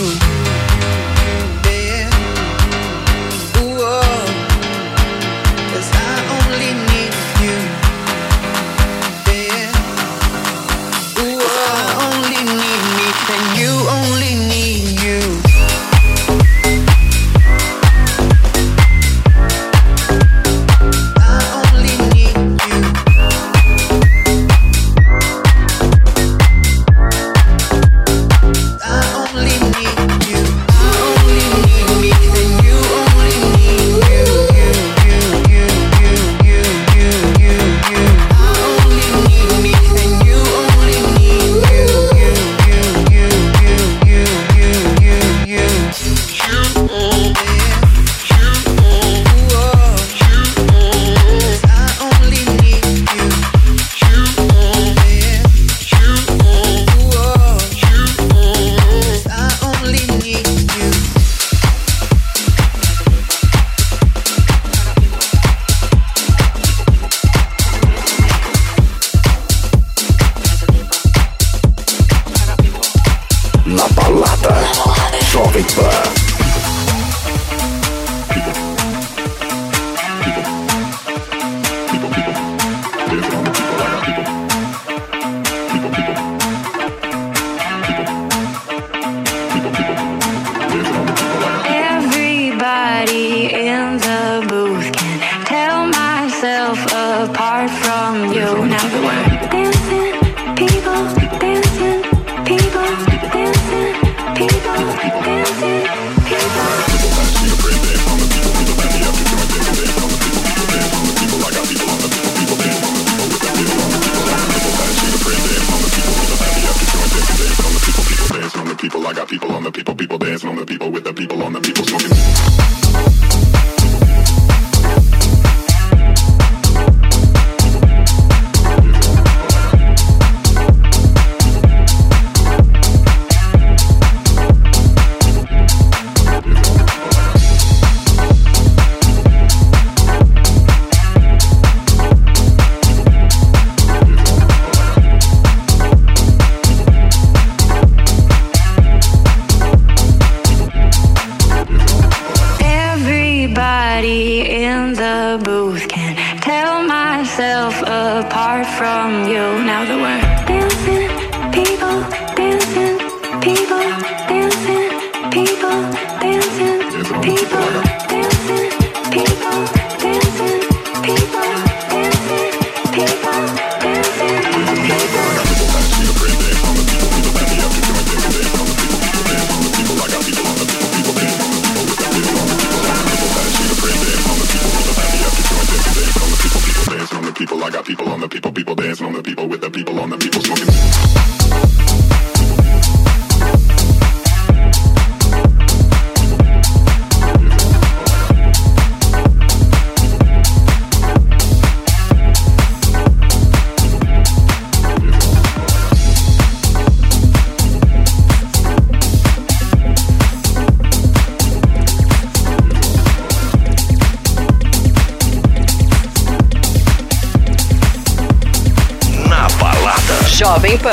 apart from you. Now the word dancing, people dancing, people dancing, people dancing. people dancing on the people with the people on the people smoking. In the booth can't tell myself apart from you. Now that we're dancing, people dancing, people dancing, people dancing, people dancing, people dancing, people dancing, people people, I got people on the people dancing on the people with the people on the people smoking. Jovem Pan.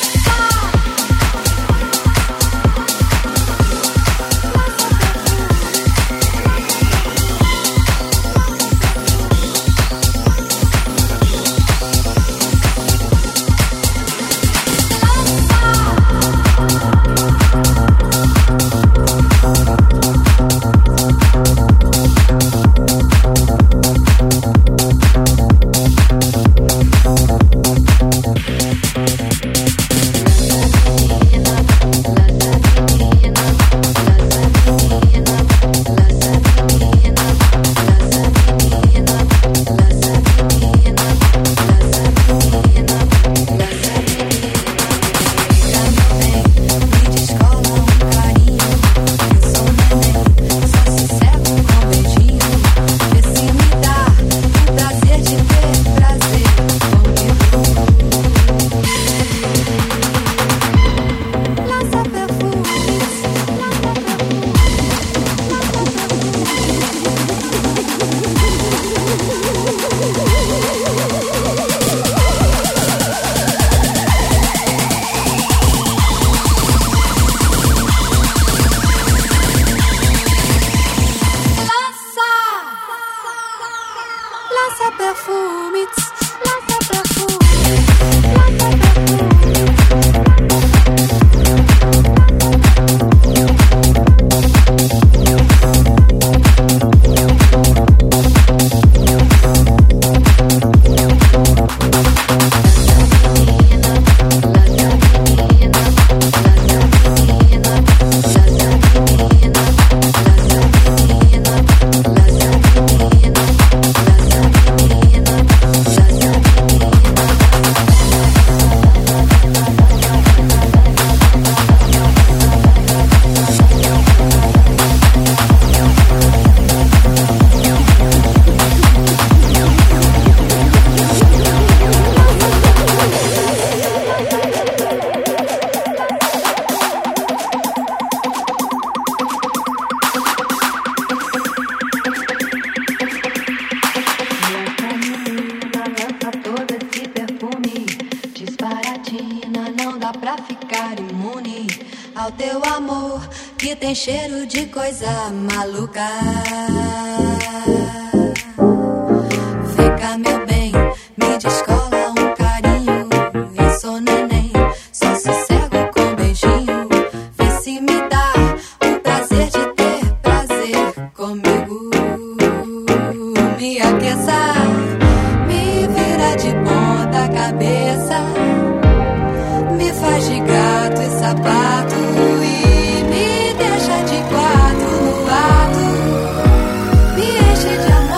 ao teu amor que tem cheiro de coisa maluca. Fica, meu bem, me descola um carinho. Eu sou neném, só sossego com beijinho. Vê se me dá o prazer de ter prazer comigo. Me aqueça, me vira de ponta cabeça, me faz de gato e sapato e me deixa de quatro no ato, me enche de amor.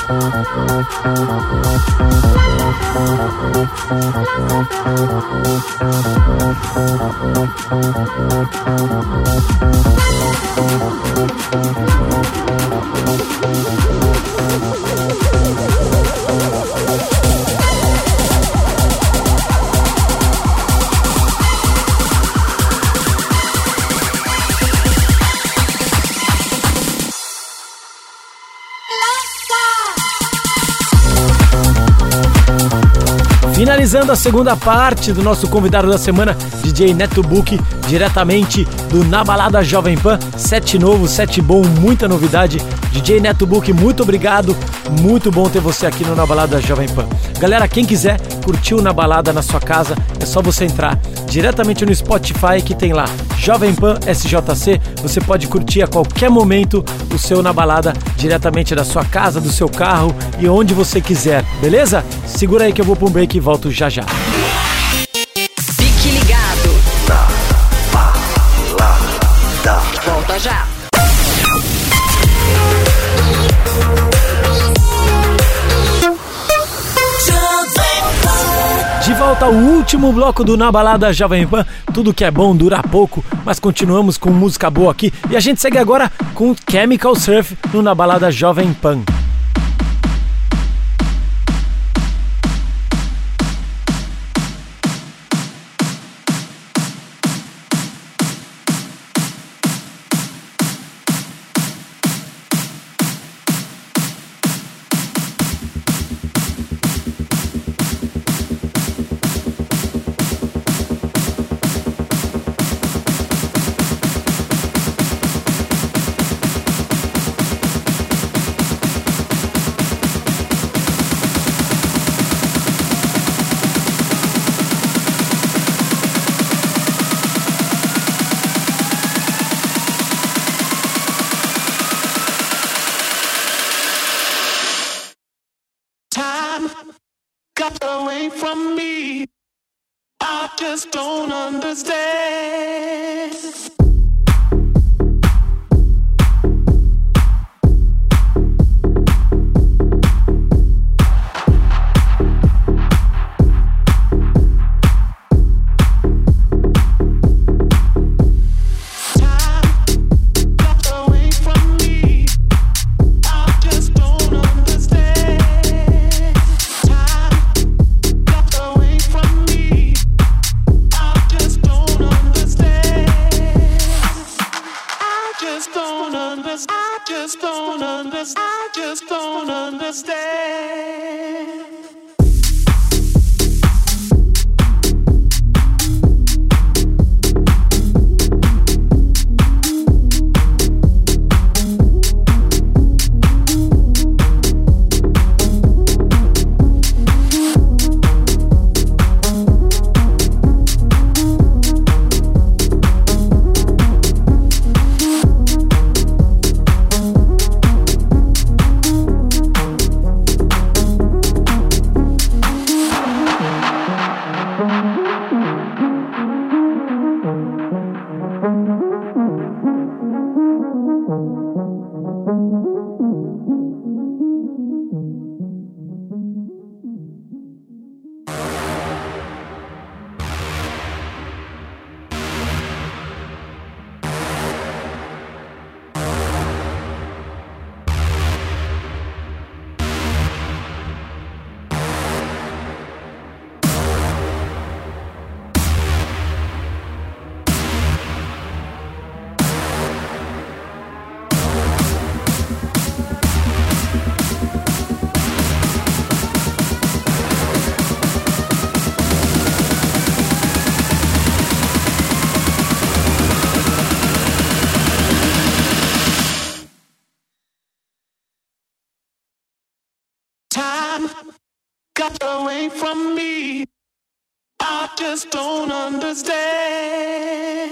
Finalizando a segunda parte do nosso convidado da semana, DJ Neto Book, diretamente do Na Balada Jovem Pan. Set novo, set bom, muita novidade. DJ Neto Book, muito obrigado, muito bom ter você aqui no Na Balada Jovem Pan. Galera, quem quiser curtir o Na Balada na sua casa, é só você entrar diretamente no Spotify, que tem lá Jovem Pan SJC. Você pode curtir a qualquer momento o seu Na Balada diretamente da sua casa, do seu carro e onde você quiser, beleza? Segura aí que eu vou para um break e volto já já. Fique ligado. Na Balada. Volta já. De volta ao último bloco do Na Balada Jovem Pan. Tudo que é bom dura pouco, mas continuamos com música boa aqui. E a gente segue agora com Chemical Surf no Na Balada Jovem Pan. Got away from me. I just don't understand. I just don't understand. Got away from me. I just don't understand.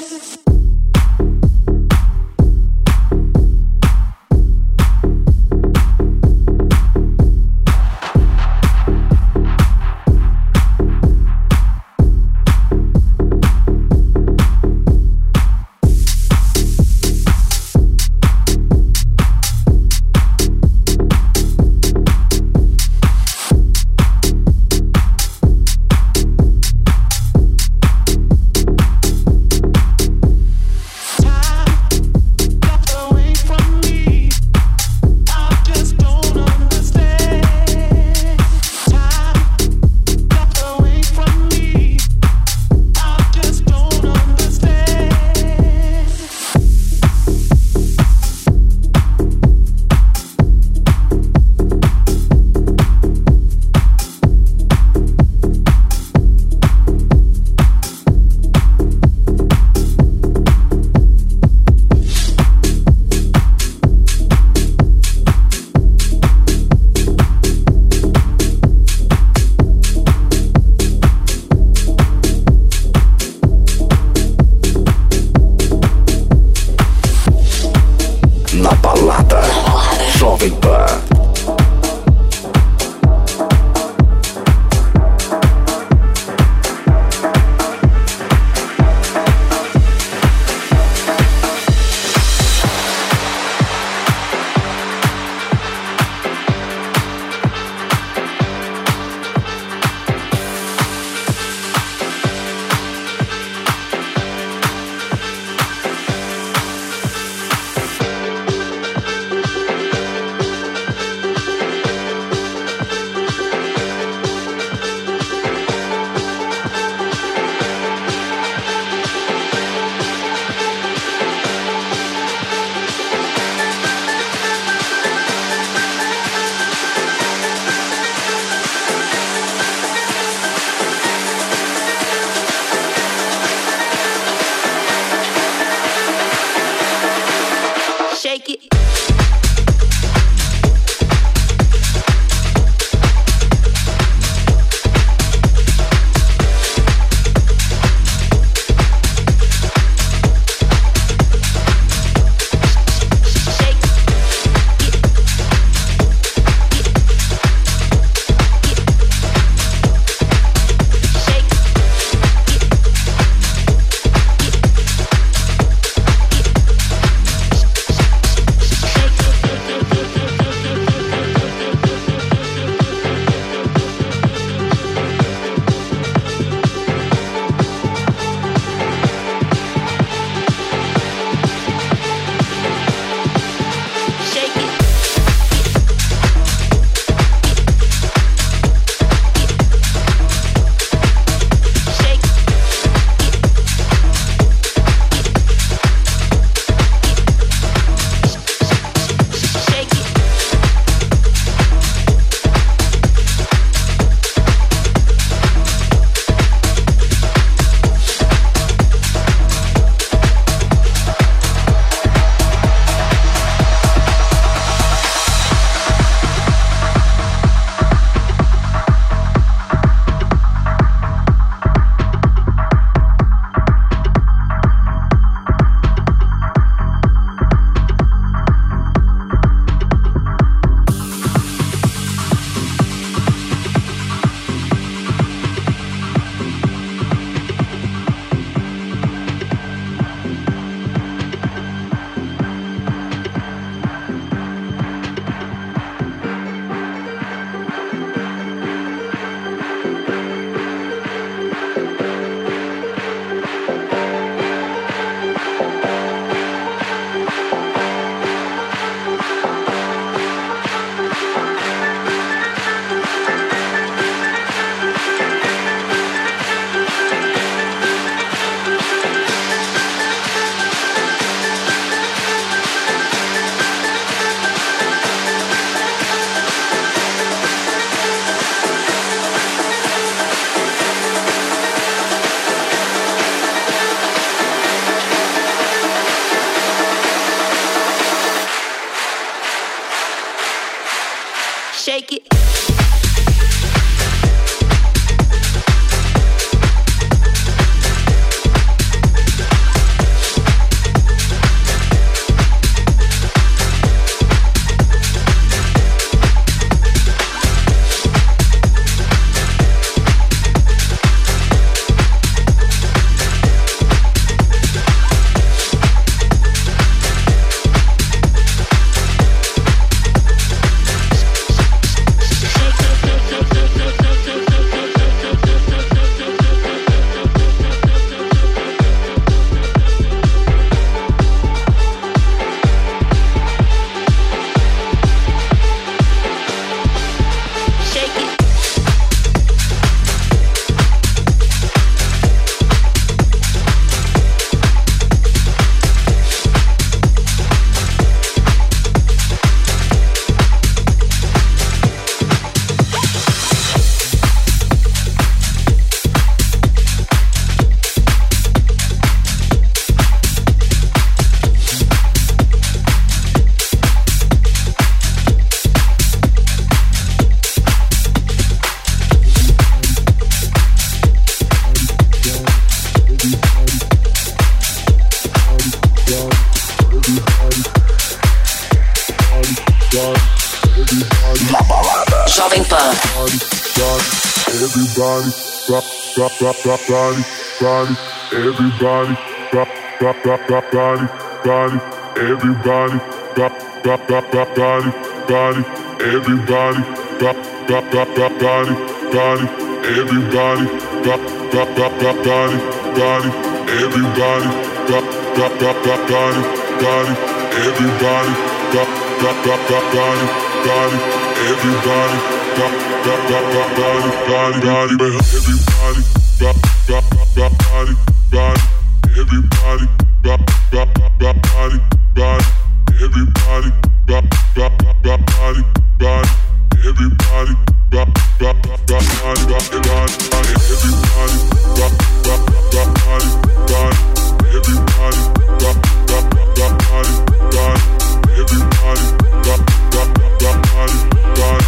Jovem Pan. Everybody, rock, rock, rock, rock, body, body. Everybody, rock, rock, rock, rock, body, body. Everybody, rock, rock, rock, rock, body, body. Everybody, rock, rock, rock, rock, body, body. Everybody, rock, rock, rock, rock, body, body. Everybody, rock, rock, rock, rock, body, body. Everybody, rock, rock, rock, rock, body, body. Everybody, rock, rock, rock, rock, body, body, body. Everybody, rock, rock, rock, rock, body, body. Everybody, rock, rock, rock, rock, body, body. Everybody, rock, rock, rock, rock, body, body. Everybody, rock, rock, rock, rock, body, body, body. Everybody, rock, rock, rock, rock, body, body. Everybody, rock, rock, rock, rock, body, body. Everybody, rock, rock, rock, rock, body, body.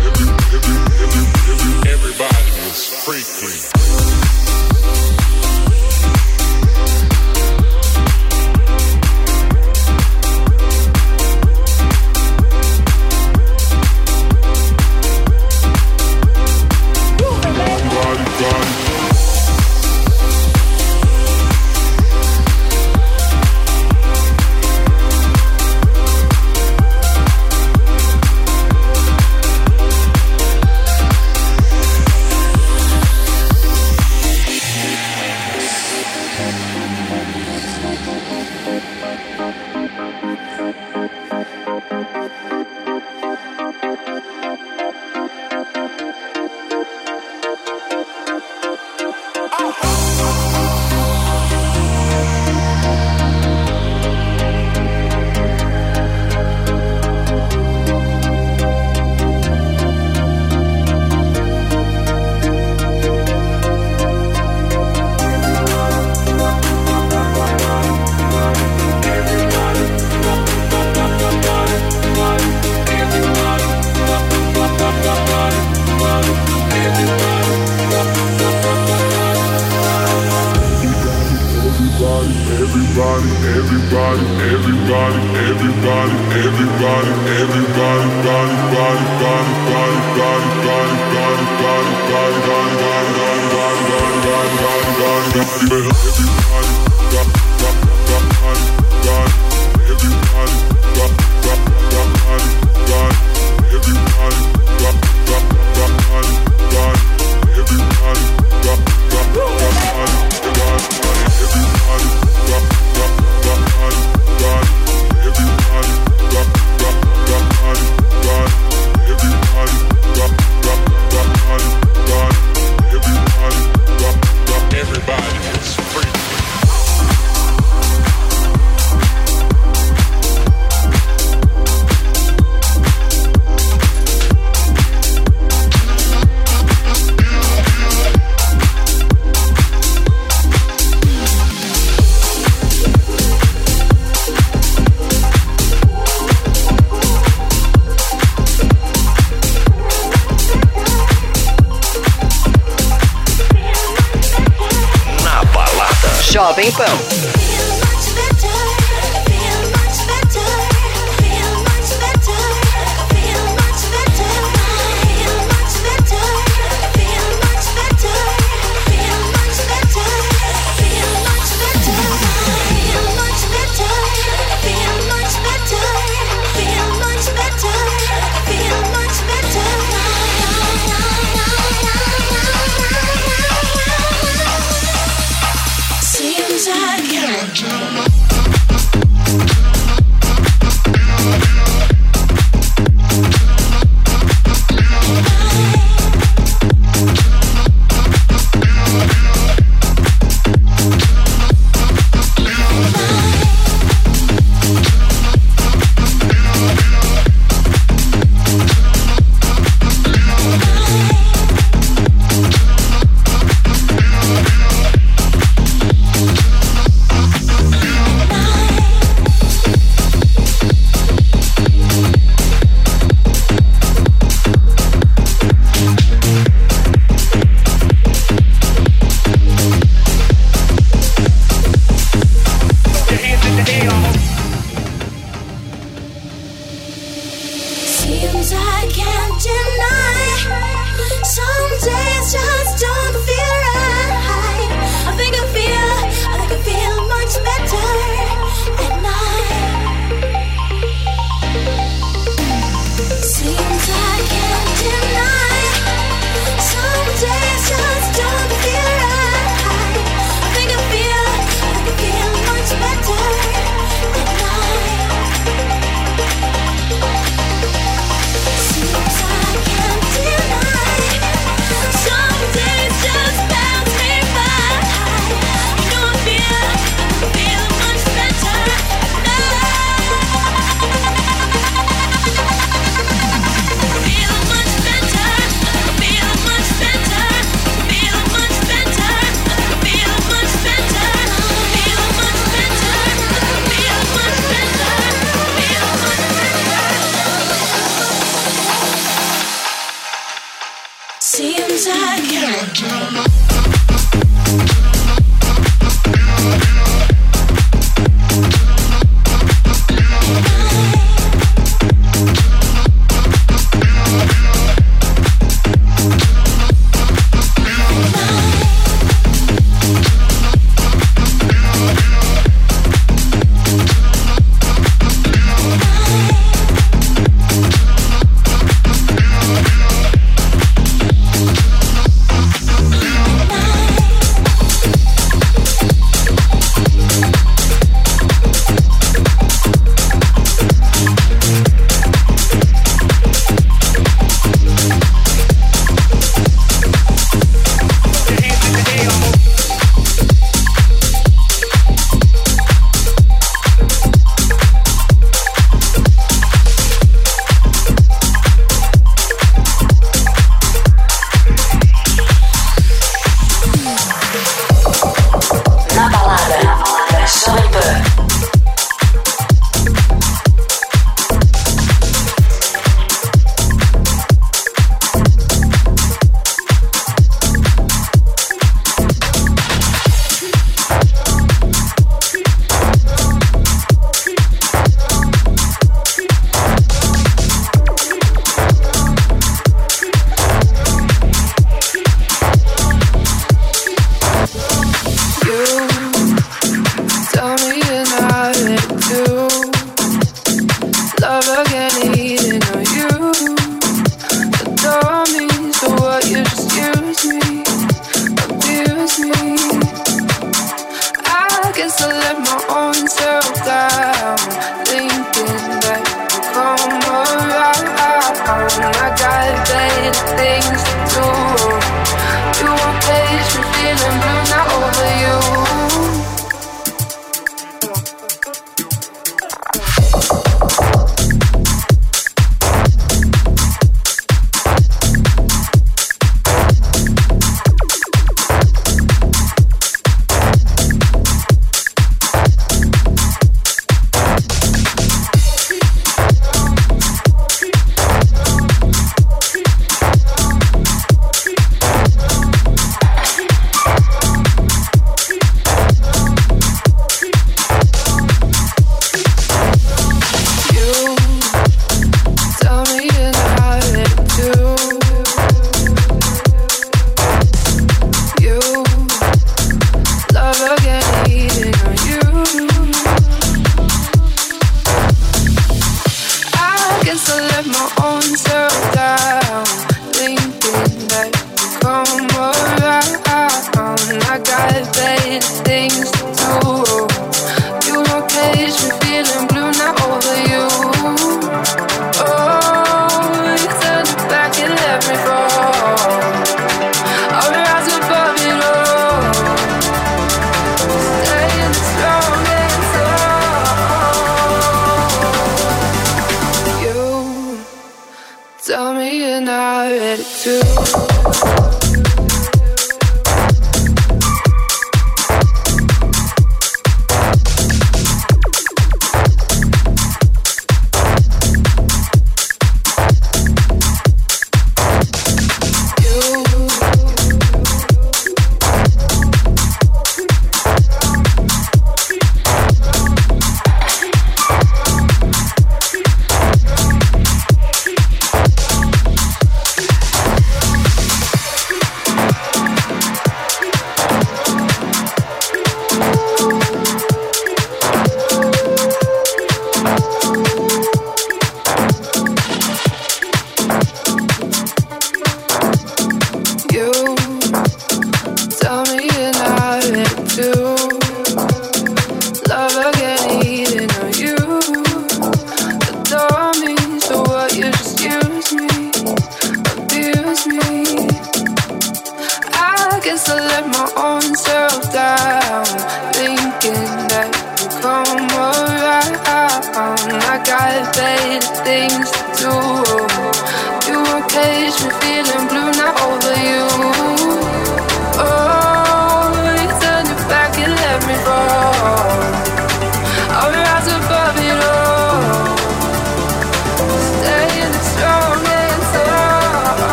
Everybody is freaking. Jovem Pan. dreams I can't dream.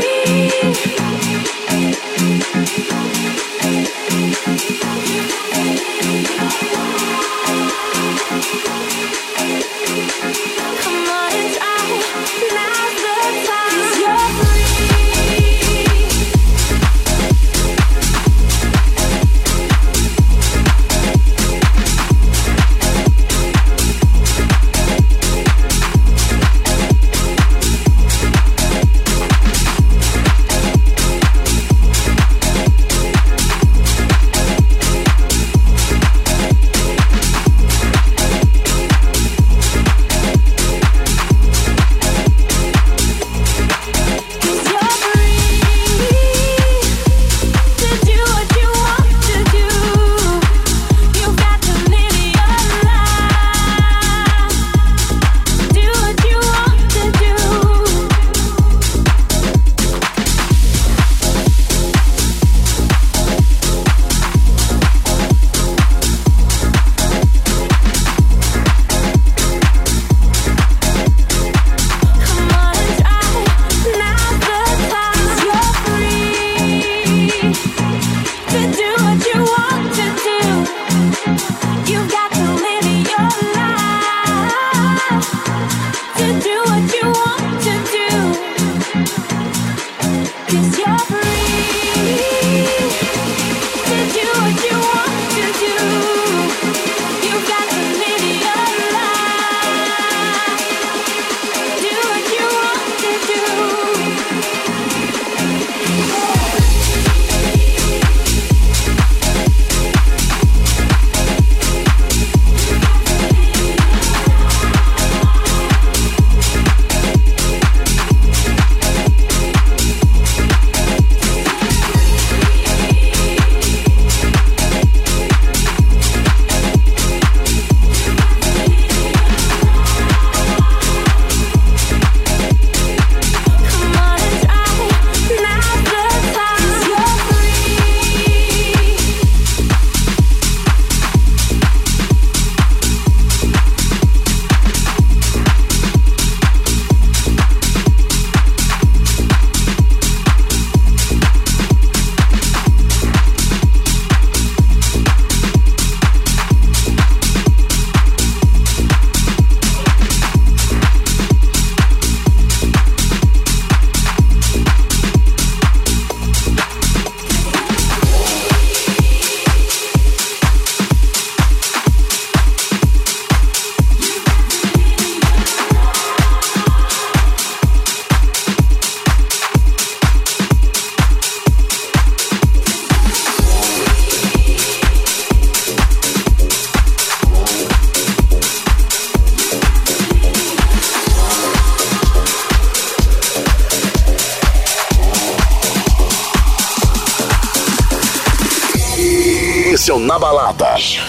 Esse é o Na Balada.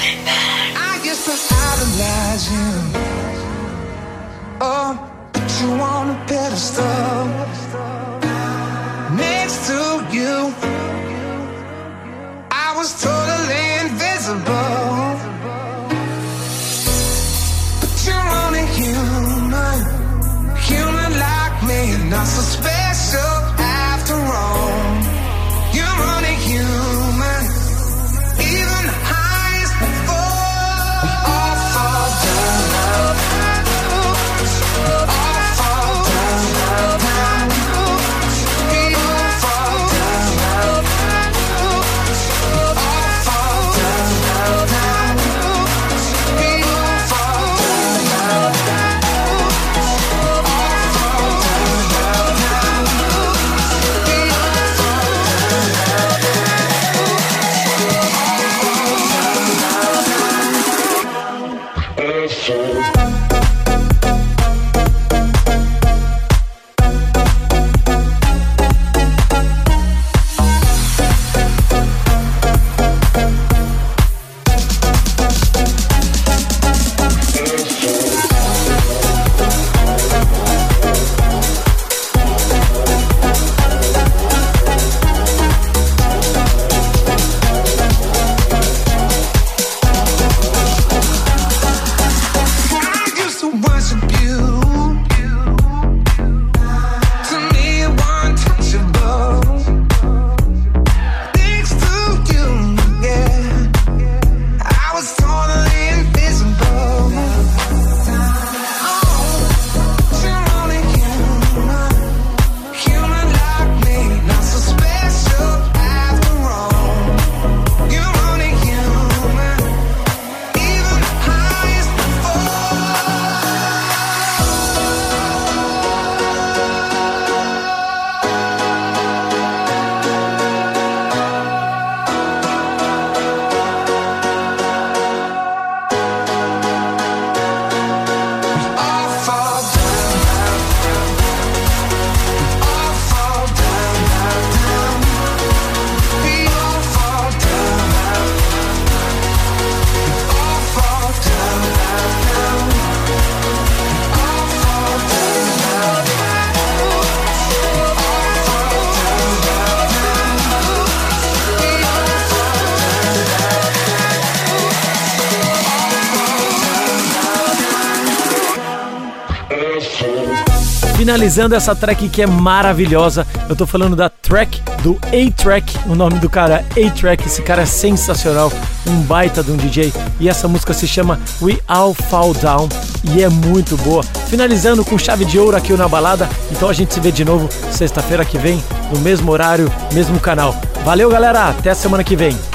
I guess I idolize you. Oh, put you on a pedestal. Next to you, I was totally invisible. But you're only human, human like me, not so special after all. You're only human. Even the highest fall, we all fall down. All fall down. We all fall down. finalizando essa track que é maravilhosa. Eu tô falando da track do A-Track. O nome do cara é A-Track. Esse cara é sensacional, um baita de um DJ. E essa música se chama We All Fall Down e é muito boa. Finalizando com chave de ouro aqui na balada. Então a gente se vê de novo sexta-feira que vem, no mesmo horário, mesmo canal. Valeu, galera, até semana que vem.